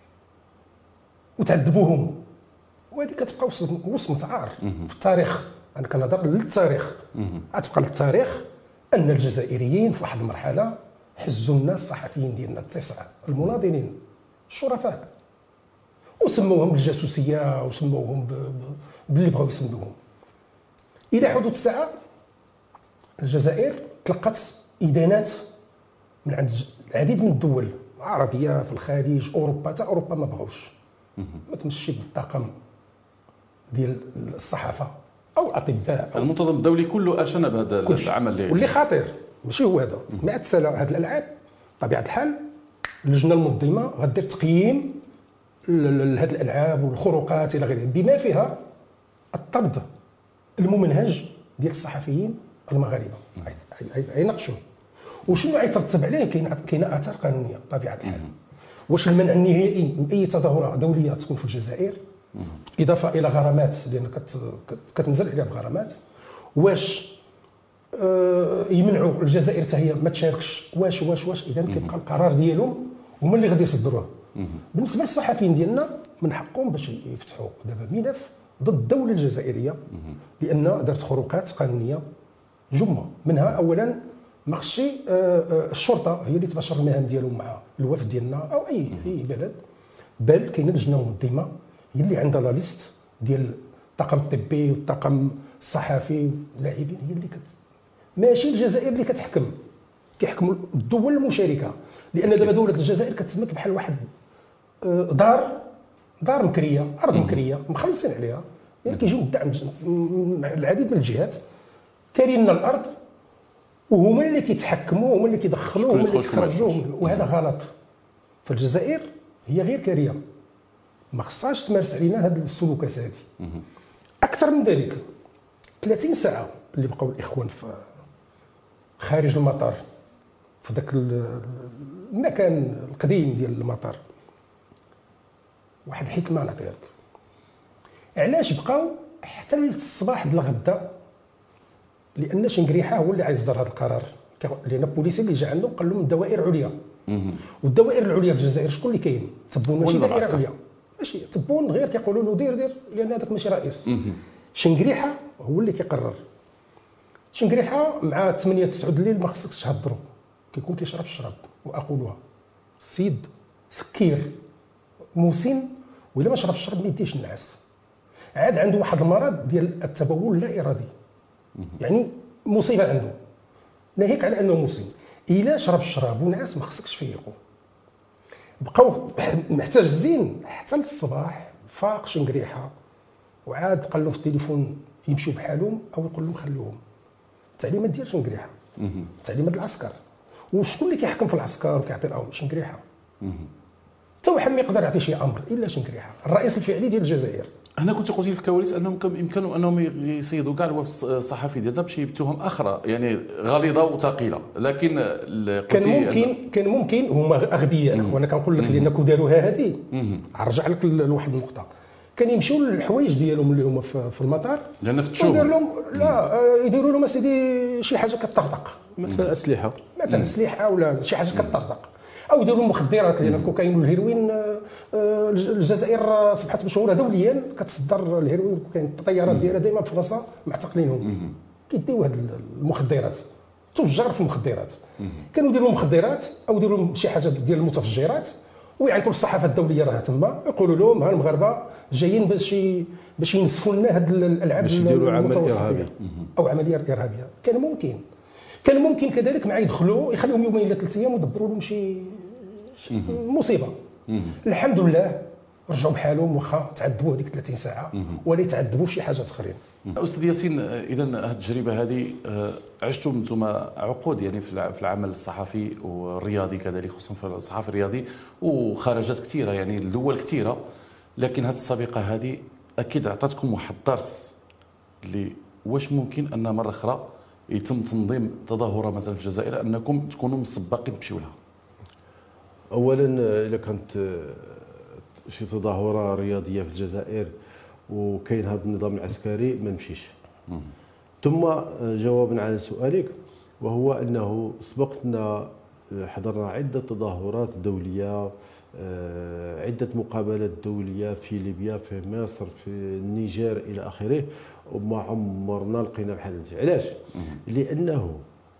وتعذبوهم، وهذه كتبقى وصمه عار في التاريخ. انا كنهضر للتاريخ، غتبقى للتاريخ ان الجزائريين في واحد المرحله حزوا الناس الصحفيين ديالنا التسعه المناضلين الشرفاء، وسموهم بالجاسوسيه وسموهم باللي بغاو يسموهم. الى حدوث الساعه الجزائر تلقت ادانات من عند العديد من الدول العربيه في الخليج، اوروبا، حتى اوروبا ما بغاوش ما تمشي بالطاقم ديال الصحافه او الاطباء. المنتظم الدولي كله اشن بهذا العمل واللي خطير ماشي هو هذا. مع التسالى هذه الالعاب بطبيعه الحال اللجنه المنظمه غدير تقييم هذه الالعاب والخروقات الى غيره، بما فيها الطرد الممنهج ديال الصحفيين المغاربه. غيناقشوه وشنو غيترتب عليه. كاينه اثار قانونيه بطبيعه الحال. واش المنع النهائي من اي تظاهره دوليه تكون في الجزائر، اضافه الى غرامات لان كتنزل عليها بغرامات. واش يمنعوا الجزائر حتى هي ما تشاركش؟ واش اذا كيبقى القرار ديالهم هما اللي غادي يصدروه. بالنسبه للصحفيين ديالنا من حقهم باش يفتحوا دابا ملف ضد الدوله الجزائريه لان دارت خروقات قانونيه جمه. منها اولا ما خصش الشرطه هي اللي تباشر المهام ديالهم مع الوفد ديالنا او اي بلد، بل كاينه لجنه منظمه هي اللي عندها لا ليست ديال الطاقم الطبي والطاقم الصحفي واللاعبين، هي اللي ماشي الجزائر اللي كيحكموا الدول المشاركه. لان دابا دوله الجزائر كتسمك بحال واحد دار مكريه، ارض مكريه مخلصين عليها، يعني كيجيو الدعم من العديد من الجهات كارين الارض وهما اللي كيتحكموا، هما اللي كيدخلوا، هما اللي كيخرجوا، وهذا غلط. فالجزائر هي غير كاريه، ما خصهاش تمارس علينا هذه السلوكات هذه. اكثر من ذلك 30 ساعه اللي بقاو الاخوان في خارج المطار في ذاك المكان القديم ديال المطار، واحد الحكمه نعطيها لك. علاش بقاو حتى الصباح ديال الغدا؟ لان شنقريحه هو اللي عايصدر هذا القرار، لان البوليسي اللي جا عنده قال لهم الدوائر عليا. والدوائر العليا في الجزائر شكون اللي كاين؟ تبون ماشي دائره عليا، ماشي تبون غير كيقولوا له دير لان هذاك ماشي رئيس. شنقريحه هو اللي كيقرر. شنقريحه مع 8 9 الليل ما خصكش تهضروا، كيكون كيشرب الشراب. واقولها السيد سكير مسن وإلا ما شرب الشرب ما يديش النعاس. عاد عنده واحد المرض ديال التبول اللا ارادي، يعني مصيبه عنده، ناهيك على انه مسن. الا شرب الشراب ونعس ما خصكش تفيقوا. بقاو محتجزين حتى للصباح. فاق شنقريحه وعاد قال له في التليفون يمشيو بحالهم او يقول لهم خلوهم. التعليمات ديال شنقريحه، تعليمات العسكر. وشكون اللي كيحكم في العسكر وكيعطي الامر؟ شنقريحه. حتى واحد ما يقدر يعطي شي امر الا شنقريحه، الرئيس الفعلي ديال الجزائر. هنا كنت قلت في الكواليس انهم يمكنوا انهم يصيدوا كاع الوفد الصحفي ديالنا بشي بتهم اخرى يعني غليظه وثقيله، لكن كان ممكن هما اغبياء. وانا كنقول لك لانكم داروها هذه. نرجع لك لواحد النقطه. كان يمشيو للحوايج ديالهم اللي هما في المطار، لان فتشوهم يدير لهم لا يديروا لهم اسيدي شي حاجه كطرطق، مثلا اسلحه ولا شي حاجه كطرطق، او يديروا مخدرات. لان الكوكايين والهيروين الجزائر اصبحت مشهوره دوليا كتصدر الهيروين والكوكايين. الطيارات ديالها دائما في فرنسا معتقلينهم كيديو هاد المخدرات، تجار في المخدرات. كانوا يديروا مخدرات او يديروا لهم شي حاجه ديال المتفجرات ويعيطوا للصحافه الدوليه راه تما، يقولوا لهم ها المغاربه جايين باش ينسفوا لنا هاد الالعاب المتوسطه او عمليه ارهابيه. كان ممكن كذلك مع يدخلوا يخليهم يومين الى 3 ايام ويدبروا لهم شي مصيبه. الحمد لله رجعوا بحالهم، واخا تعذبوا هذيك 30 ساعه ولا يتعذبوا في شي حاجات اخرين. استاذ ياسين، اذا هذه التجربه هذه عشتم انتم عقود يعني في العمل الصحفي والرياضي كذلك، خصوصا في الصحافه الرياضي وخرجات كثيره يعني لدول كثيره، لكن هذه السابقه هذه اكيد عطاتكم واحد الدرس اللي واش ممكن ان مره اخرى يتم تنظيم تظاهره مثلا في الجزائر انكم تكونوا مسبقين تمشيو لها. اولا اذا كانت شي تظاهره رياضيه في الجزائر وكاين هذا النظام العسكري ما نمشيش. ثم جوابا على سؤالك، وهو انه سبقتنا حضرنا عده تظاهرات دوليه، عده مقابلات دوليه في ليبيا، في مصر، في النيجر الى اخره، وما عمرنا لقينا بحال هذا. علاش؟ لانه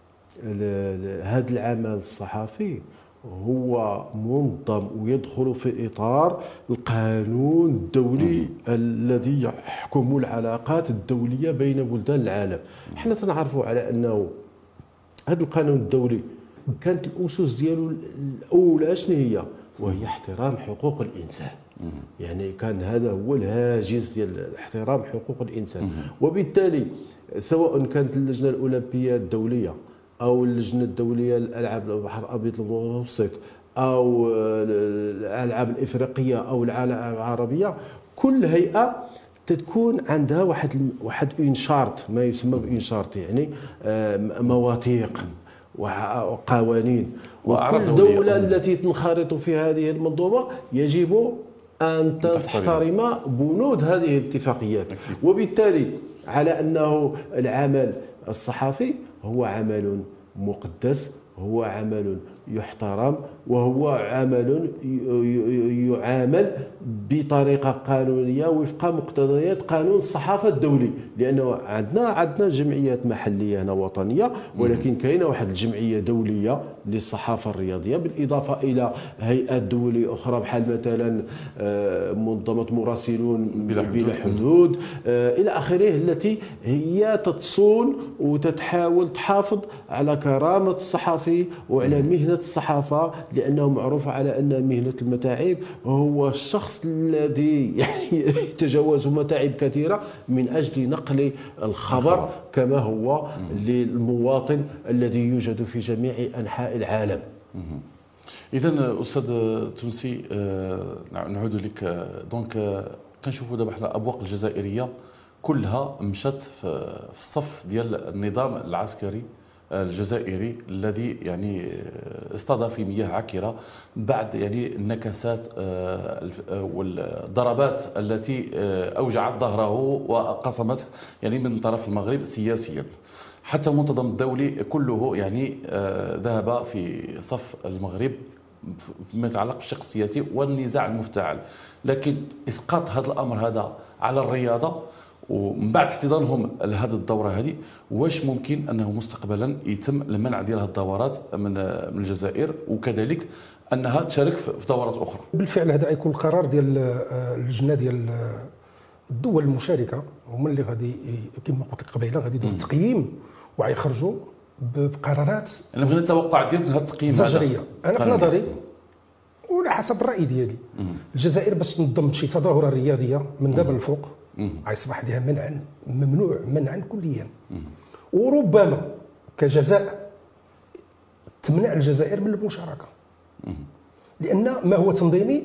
هذا العمل الصحفي هو منظم ويدخل في اطار القانون الدولي الذي يحكم العلاقات الدوليه بين بلدان العالم. حنا تنعرفوا على انه هذا القانون الدولي كانت الاسس ديالو الاولى شنو هي؟ وهي احترام حقوق الانسان. يعني كان هذا هو الهاجس ديال احترام حقوق الانسان. وبالتالي سواء كانت اللجنه الاولمبيه الدوليه او اللجنه الدوليه للالعاب البحر الابيض المتوسط او الالعاب الافريقيه او الالعاب العربيه، كل هيئه تكون عندها واحد اون شارت، ما يسمى بإون شارت، يعني مواثيق وقوانين، وكل دولة التي تنخرط في هذه المنظومة يجب أن تحترم بنود هذه الاتفاقيات. وبالتالي على أنه العمل الصحفي هو عمل مقدس، هو عمل يحترم، وهو عمل يعامل بطريقه قانونيه وفق مقتضيات قانون الصحافه الدولي، لانه عندنا جمعيات محليه هنا وطنيه، ولكن كاينه واحد الجمعيه دوليه للصحافه الرياضيه، بالاضافه الى هيئات دوليه اخرى بحال مثلا منظمه مراسلون بلا حدود الى اخره، التي هي تصون وتتحاول تحافظ على كرامه الصحفي وعلى مهنه الصحافه، لانه معروف على ان مهنه المتاعب هو الشخص الذي يتجاوز متاعب كثيره من اجل نقل الخبر كما هو للمواطن الذي يوجد في جميع انحاء العالم. اذا استاذ تونسي، نعود لك. دونك كنشوفوا دابا حنا الابواق الجزائريه كلها مشات في الصف ديال النظام العسكري الجزائري الذي يعني اصطدى في مياه عكرة بعد يعني النكسات والضربات التي أوجعت ظهره وقصمته يعني من طرف المغرب سياسيا. حتى المنتظم الدولي كله يعني ذهب في صف المغرب فيما يتعلق بالشق السياسي والنزاع المفتعل، لكن إسقاط هذا الأمر هذا على الرياضة ومن بعد احتضانهم لهذه الدوره هذه، واش ممكن انه مستقبلا يتم المنع ديال هذه الدورات من الجزائر، وكذلك انها تشارك في دورات اخرى؟ بالفعل هذا يكون القرار ديال اللجنه ديال الدول المشاركه، هما اللي غادي كما قلت لك قبيله غادي يديروا التقييم وغيخرجوا بقرارات. انا بغيت التوقع ديالك من هذا التقييم زجريه. انا في نظري وعلى حسب الراي ديالي الجزائر باش تنظم شي تظاهره رياضيه من دابا الفوق غيصبح لها منعا ممنوع منعا كليا، وربما كجزاء تمنع الجزائر من المشاركه، لان ما هو تنظيمي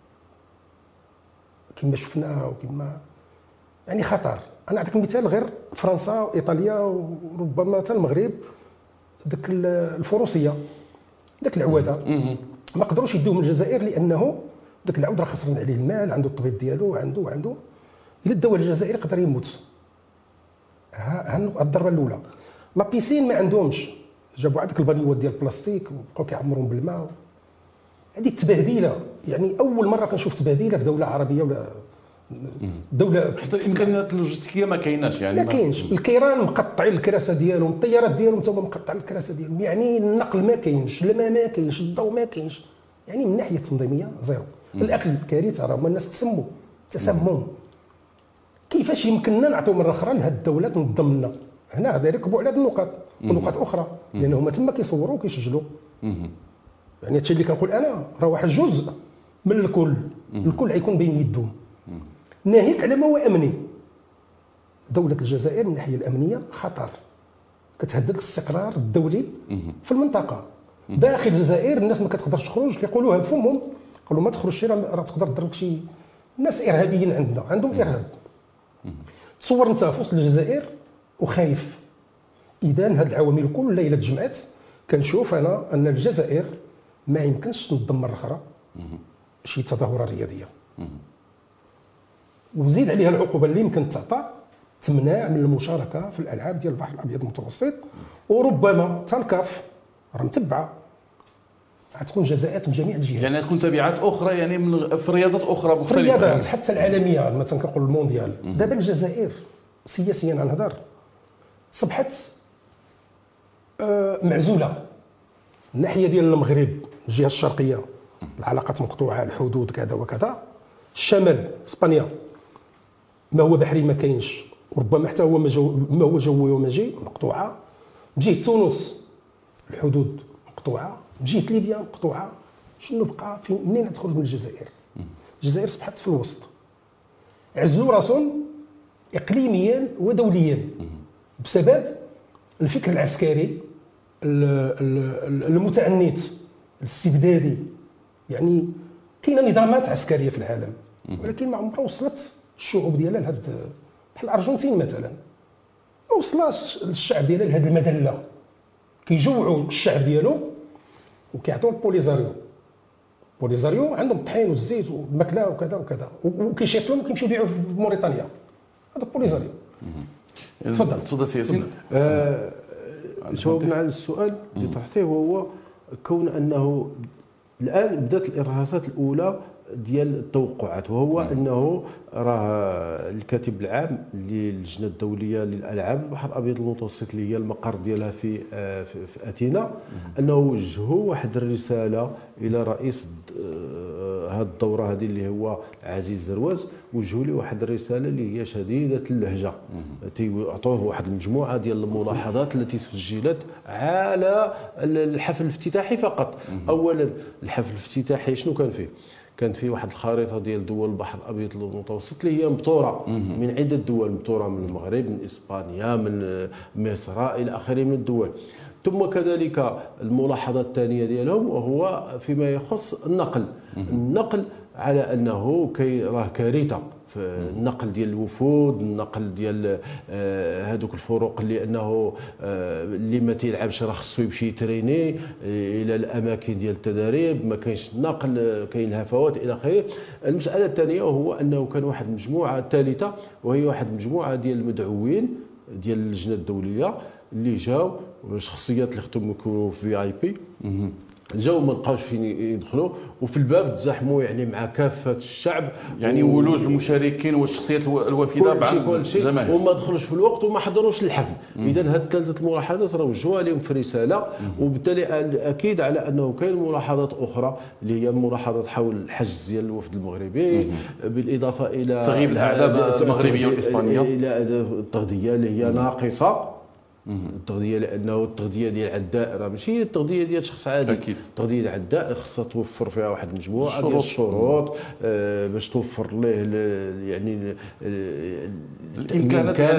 كما شفنا وكما يعني خطر. انا نعطيك مثال، غير فرنسا وايطاليا وربما حتى المغرب، داك الفروسيه داك العواده ما قدروش يدوه من الجزائر، لانه داك العود راه خسران عليه المال، عنده الطبيب ديالو، عنده الا داو الجزائر يقدر يموت. ها الضربه الاولى. لا بيسين ما عندهمش، جابوا عندك البانيوات ديال البلاستيك وبقاو كيعمرون بالماء. هذه التبهديله، يعني اول مره كنشوف تبهديله في دوله عربيه ولا دوله. حتى الامكانيات اللوجستيكيه ما كايناش، يعني ما كاينش. الكيران مقطعين الكراسه ديالهم، الطيارات ديالهم تا هما مقطعين الكراسه ديالهم، يعني النقل ما كاينش، الماء ما كاينش، الضوء ما كاينش، يعني من ناحيه تنظيميه زيرو. الاكل كارثه، راه هما الناس تسموا تسمم. كيفاش يمكننا نعطيو مره اخرى لهاد الدوله تنظم لنا؟ هنا غادي يركبوا على هاد النقاط ونقاط اخرى، لان هما تما كيصوروا وكيسجلوا. يعني هادشي اللي كنقول انا راه واحد جزء من الكل، الكل غيكون بين يدهم. ناهيك على ما هو امني، دوله الجزائر من الناحيه الامنيه خطر، كتهدد الاستقرار الدولي في المنطقه. داخل الجزائر الناس ما كتقدرش تخرج، كيقولوها بفمهم، قالوا ما تخرجش راه تقدر تضربك شي ناس ارهابيين عندهم ارهاب. تصور انت في وسط الجزائر وخايف. اذا هاد العوامل كلها الا تجمعات كنشوف انا ان الجزائر ما يمكنش تنظم مره اخرى شي تظاهره رياضيه. وزيد عليها العقوبه اللي يمكن تعطى، تمنع من المشاركه في الالعاب ديال البحر الابيض المتوسط، وربما تنكف راه متبعه غتكون جزاءات من جميع الجهات، يعني تكون تبعات اخرى، يعني من في رياضات اخرى مختلفه، في الرياضات حتى العالميه. مثلا كنقول المونديال. دابا الجزائر سياسيا غنهضر صبحت معزوله. الناحيه ديال المغرب الجهه الشرقيه العلاقات مقطوعه، الحدود كذا وكذا. الشمال اسبانيا ما هو بحري ما كاينش، وربما حتى هو ما هو جوي وماجي مقطوعه. بجهه تونس الحدود مقطوعه، بجهه ليبيا مقطوعه. شنو بقى؟ منين تخرج من الجزائر؟ الجزائر صبحت في الوسط، عزلوا راسهم اقليميا ودوليا بسبب الفكر العسكري المتعنت الاستبدادي. يعني كاينه نظامات عسكريه في العالم، ولكن ما عمرها وصلت الشعوب ديالها لهاد، بحال الارجنتين مثلا ما وصلاش الشعب ديالها لهاد المذله. كيجوعوا الشعب ديالو وكيعطيو البوليزاريو عندهم الطحين والزيت والماكله وكذا وكذا، وكيشيطلهم وكيمشيو يبيعوا في موريتانيا. هذا بوليزاريو. تفضل سي ياسين. جاوبنا على السؤال اللي طرحتيه، وهو كون انه الان بدات الارهاصات الاولى ديال التوقعات، وهو انه راه الكاتب العام للجنه الدوليه للالعاب البحر الابيض المتوسط اللي هي المقر ديالها في اثينا، انه وجهوا واحد الرساله الى رئيس هذه الدوره هذه اللي هو عزيز زرواز. وجهوا له واحد الرساله اللي هي شديده اللهجه، تيعطوه واحد المجموعه ديال الملاحظات التي سجلت على الحفل الافتتاحي فقط. اولا الحفل الافتتاحي شنو كان فيه؟ كانت فيه واحد الخريطه ديال دول البحر الابيض المتوسط اللي هي مبتوره من عده دول، مبتوره من المغرب، من اسبانيا، من مصر، الى اخره من الدول. ثم كذلك الملاحظه الثانيه ديالهم وهو فيما يخص النقل على انه راه كارثه في النقل ديال الوفود، النقل ديال هذوك الفروق اللي انه اللي ما تيلعبش راه خصو يمشي يتريني الى الاماكن ديال التدريب، ما كاينش النقل، كاين الهفوات الى اخره. المساله الثانيه وهو انه كان واحد المجموعه ثالثه، وهي واحد المجموعه ديال المدعوين ديال اللجنه الدوليه اللي جاو، الشخصيات اللي خدموا يكونوا في اي بي، جاوا ما لقاوش فين يدخلوا، وفي الباب تزاحموا يعني مع كافه الشعب، يعني ولوج المشاركين والشخصيات الوافده مع الجماهير، وما دخلوش في الوقت وما حضروش الحفل. اذا هاد ثلاثه الملاحظات راه وجهوها لهم في رساله، وبالتالي اكيد على انه كاين ملاحظات اخرى اللي هي الملاحظات حول الحجز ديال الوفد المغربي، بالاضافه الى تغييب الاعداد المغربيه والاسبانيه، الى التغذيه اللي هي ناقصه. التغذيه لانه التغذيه ديال عداء راه ماشي التغذيه ديال شخص عادي، التغذيه ديال عداء خصها توفر فيها واحد المجموعه ديال الشروط باش توفر ليه يعني الامكانات،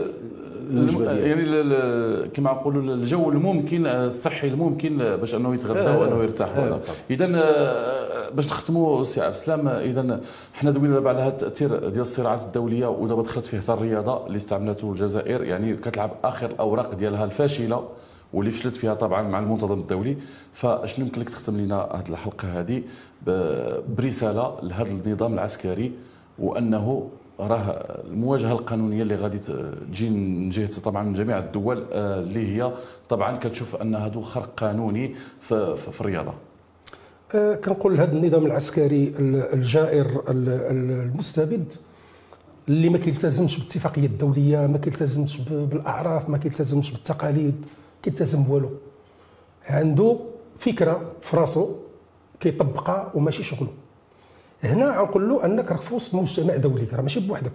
يعني كما نقولوا الجو الممكن الصحي الممكن باش انه يتغذى وانه يرتاح. اذا باش نختموا سي عبد السلام، اذا حنا دوينا دابا على هذا التاثير ديال الصراعات الدوليه، ودابا دخلت فيه حتى الرياضه اللي استعملته الجزائر، يعني كتلعب اخر الاوراق ديالها الفاشله واللي فشلت فيها طبعا مع المنتظم الدولي. فشنو يمكن لك تختم لنا هذه الحلقه هذه برساله لهذا النظام العسكري، وانه راه المواجهه القانونيه اللي غادي تجي من جهه طبعا من جميع الدول اللي هي طبعا كتشوف ان هذا خرق قانوني في الرياضه؟ كنقول لهذا النظام العسكري الجائر المستبد اللي ما كيلتزمش بالاتفاقيه الدوليه، ما كيلتزمش بالاعراف، ما كيلتزمش بالتقاليد، كيلتزم بوالو. عنده فكره في راسو كيطبقها وماشي شغله. هنا غنقول له انك راك في وسط مجتمع دولي، راه ماشي بوحدك،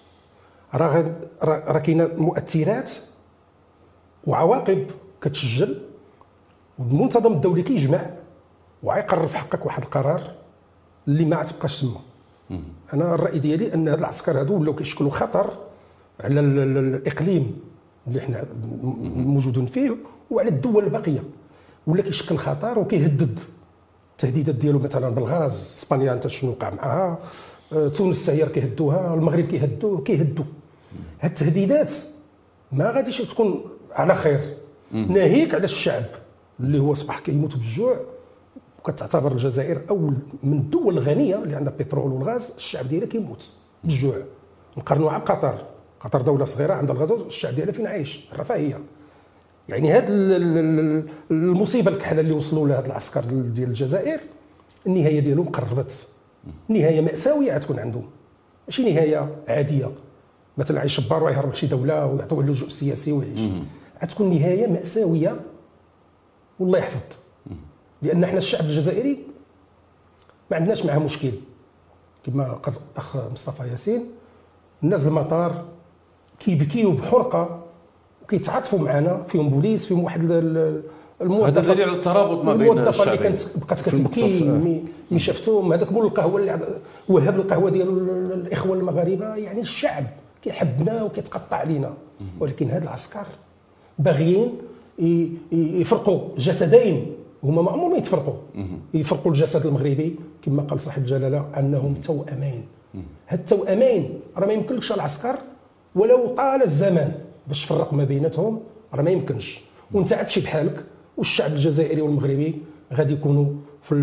راه كاينه مؤثرات وعواقب كتسجل، والمنتظم الدولي كيجمع وغيقرر في حقك واحد القرار اللي ما تبقاش تما. انا الراي ديالي ان هاد العسكر هادو ولاو كيشكلوا خطر على الاقليم اللي حنا موجودين فيه وعلى الدول الباقيه، ولا كيشكل خطر وكيهدد. التهديدات ديالو مثلا بالغاز، اسبانيا انت شنو وقع معها، تونس حتى هي كيهدوها، المغرب كيهدوا. هاد التهديدات ما غاديش تكون على خير، ناهيك على الشعب اللي هو اصبح كيموت بالجوع، وكتعتبر الجزائر اول من الدول الغنيه اللي عندها بترول والغاز، الشعب ديالها كيموت بالجوع. نقارنوا على قطر دوله صغيره عندها الغاز، الشعب ديالها فين عايش؟ الرفاهيه. يعني هاد المصيبه الكحله اللي وصلوا لها هاد العسكر ديال الجزائر، النهايه ديالهم قربت، نهايه ماساويه غتكون عندهم، ماشي نهايه عاديه مثلا يشبر ويهرب لشي دوله ويعطيوه اللجوء السياسي ويعيش. غتكون نهايه ماساويه والله يحفظ. لان احنا الشعب الجزائري ما عندناش معاه مشكل، كما قال الاخ مصطفى ياسين، الناس المطار كيبكيو بحرقه وكيتعاطفوا معنا، فيهم بوليس، فيهم واحد هذا دليل على الترابط ما بين الشعبين. اللي كانت بقات كتبكي ملي شفتهم، هذاك مول القهوه اللي وهب القهوه ديال الاخوه المغاربه. يعني الشعب كيحبنا وكيتقطع علينا، ولكن هاد العسكر باغيين يفرقوا جسدين هما ما عمرهم يتفرقوا، يفرقوا الجسد المغربي كما قال صاحب الجلاله انهم توأمين. هاد التوأمين راه ما يمكنلكش العسكر ولو طال الزمان باش تفرق ما بيناتهم، راه ما يمكنش. وانت عاد تمشي بحالك، والشعب الجزائري والمغربي غادي يكونوا في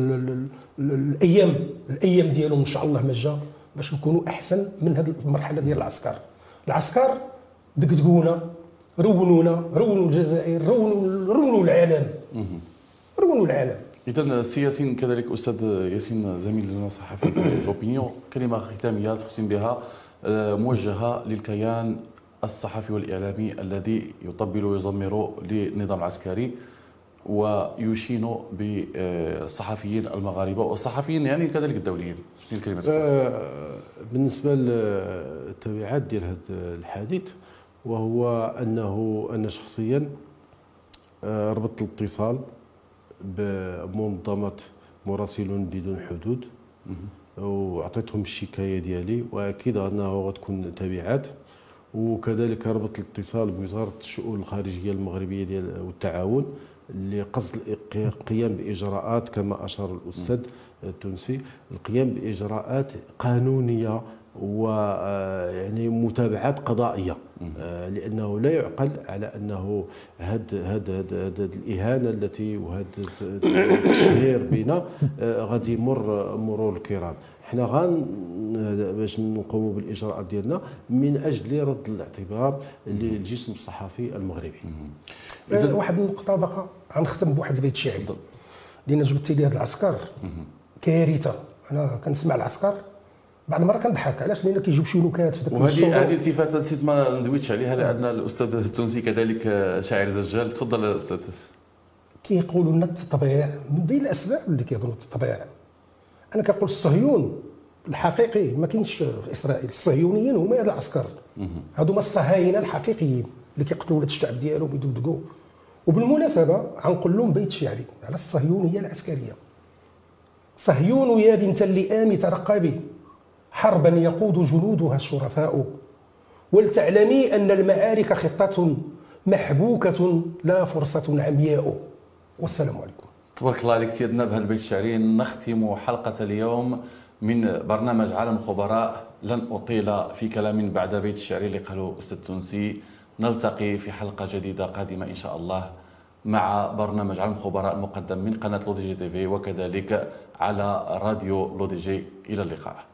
الايام ديالهم ان شاء الله مجا باش نكونوا احسن من هذه المرحله ديال العسكر. العسكر دقدقونا، رونوا الجزائر، رونوا العالم، رونوا العالم. اذا السي ياسين كذلك استاذ ياسين زميلنا الصحفي في لوبينيون، كلمه ختاميه تختم بها موجهه للكيان الصحفي والاعلامي الذي يطبل ويزمر للنظام العسكري ويشين بالصحفيين المغاربه والصحفيين يعني كذلك الدوليين. شنو الكلمه؟ بالنسبه للتبعات ديال هذا الحديث، وهو انه انا شخصيا ربطت الاتصال بمنظمه مراسلون بدون حدود وعطيتهم الشكايه ديالي، واكيد انه غتكون تبعات. وكذلك ربط الاتصال بوزاره الشؤون الخارجيه المغربيه ديال والتعاون لقصد القيام باجراءات كما اشار الاستاذ التونسي، القيام باجراءات قانونيه ويعني متابعات قضائيه، لانه لا يعقل على انه هذا الاهانه التي وهذا التشهير بنا غادي يمر مرور الكرام. حنا باش نقوموا بالاجراءات ديالنا من اجل رد الاعتبار للجسم الصحفي المغربي. واحد النقطه باقا غنختم بواحد البيت شعري لان جبتي لي هذا العسكر كارثه. انا كنسمع العسكر بعض المرات كنضحك، علاش؟ لان كيجيو شي نكات في ذاك الشغل. وهذه التفاته نسيت ما ندويتش عليها، لان الاستاذ التونسي كذلك شاعر زجال. تفضل استاذ. كيقولوا لنا التطبيع من بين الاسباب اللي كيظنوا التطبيع. انا كنقول الصهيون الحقيقي ما كاينش في اسرائيل، الصهيونيين هما هاد العسكر، هادو هما الصهاينه الحقيقيين اللي كيقتلوا ولاد الشعب ديالهم ويدقدقوا. وبالمناسبه غنقول لهم بيت شعري على الصهيونيه العسكريه: صهيون يا بنت اللئام ترقبي، حربا يقود جنودها الشرفاء، ولتعلمي ان المعارك خطه محبوكه لا فرصه عمياء. والسلام عليكم. تبارك الله عليك سيدنا. بهذا البيت الشعري نختم حلقة اليوم من برنامج عالم خبراء. لن أطيل في كلام بعد بيت الشعري اللي قاله أستاذ تونسي. نلتقي في حلقة جديدة قادمة إن شاء الله مع برنامج عالم خبراء المقدم من قناة لودي جي تي في وكذلك على راديو لودي جي. إلى اللقاء.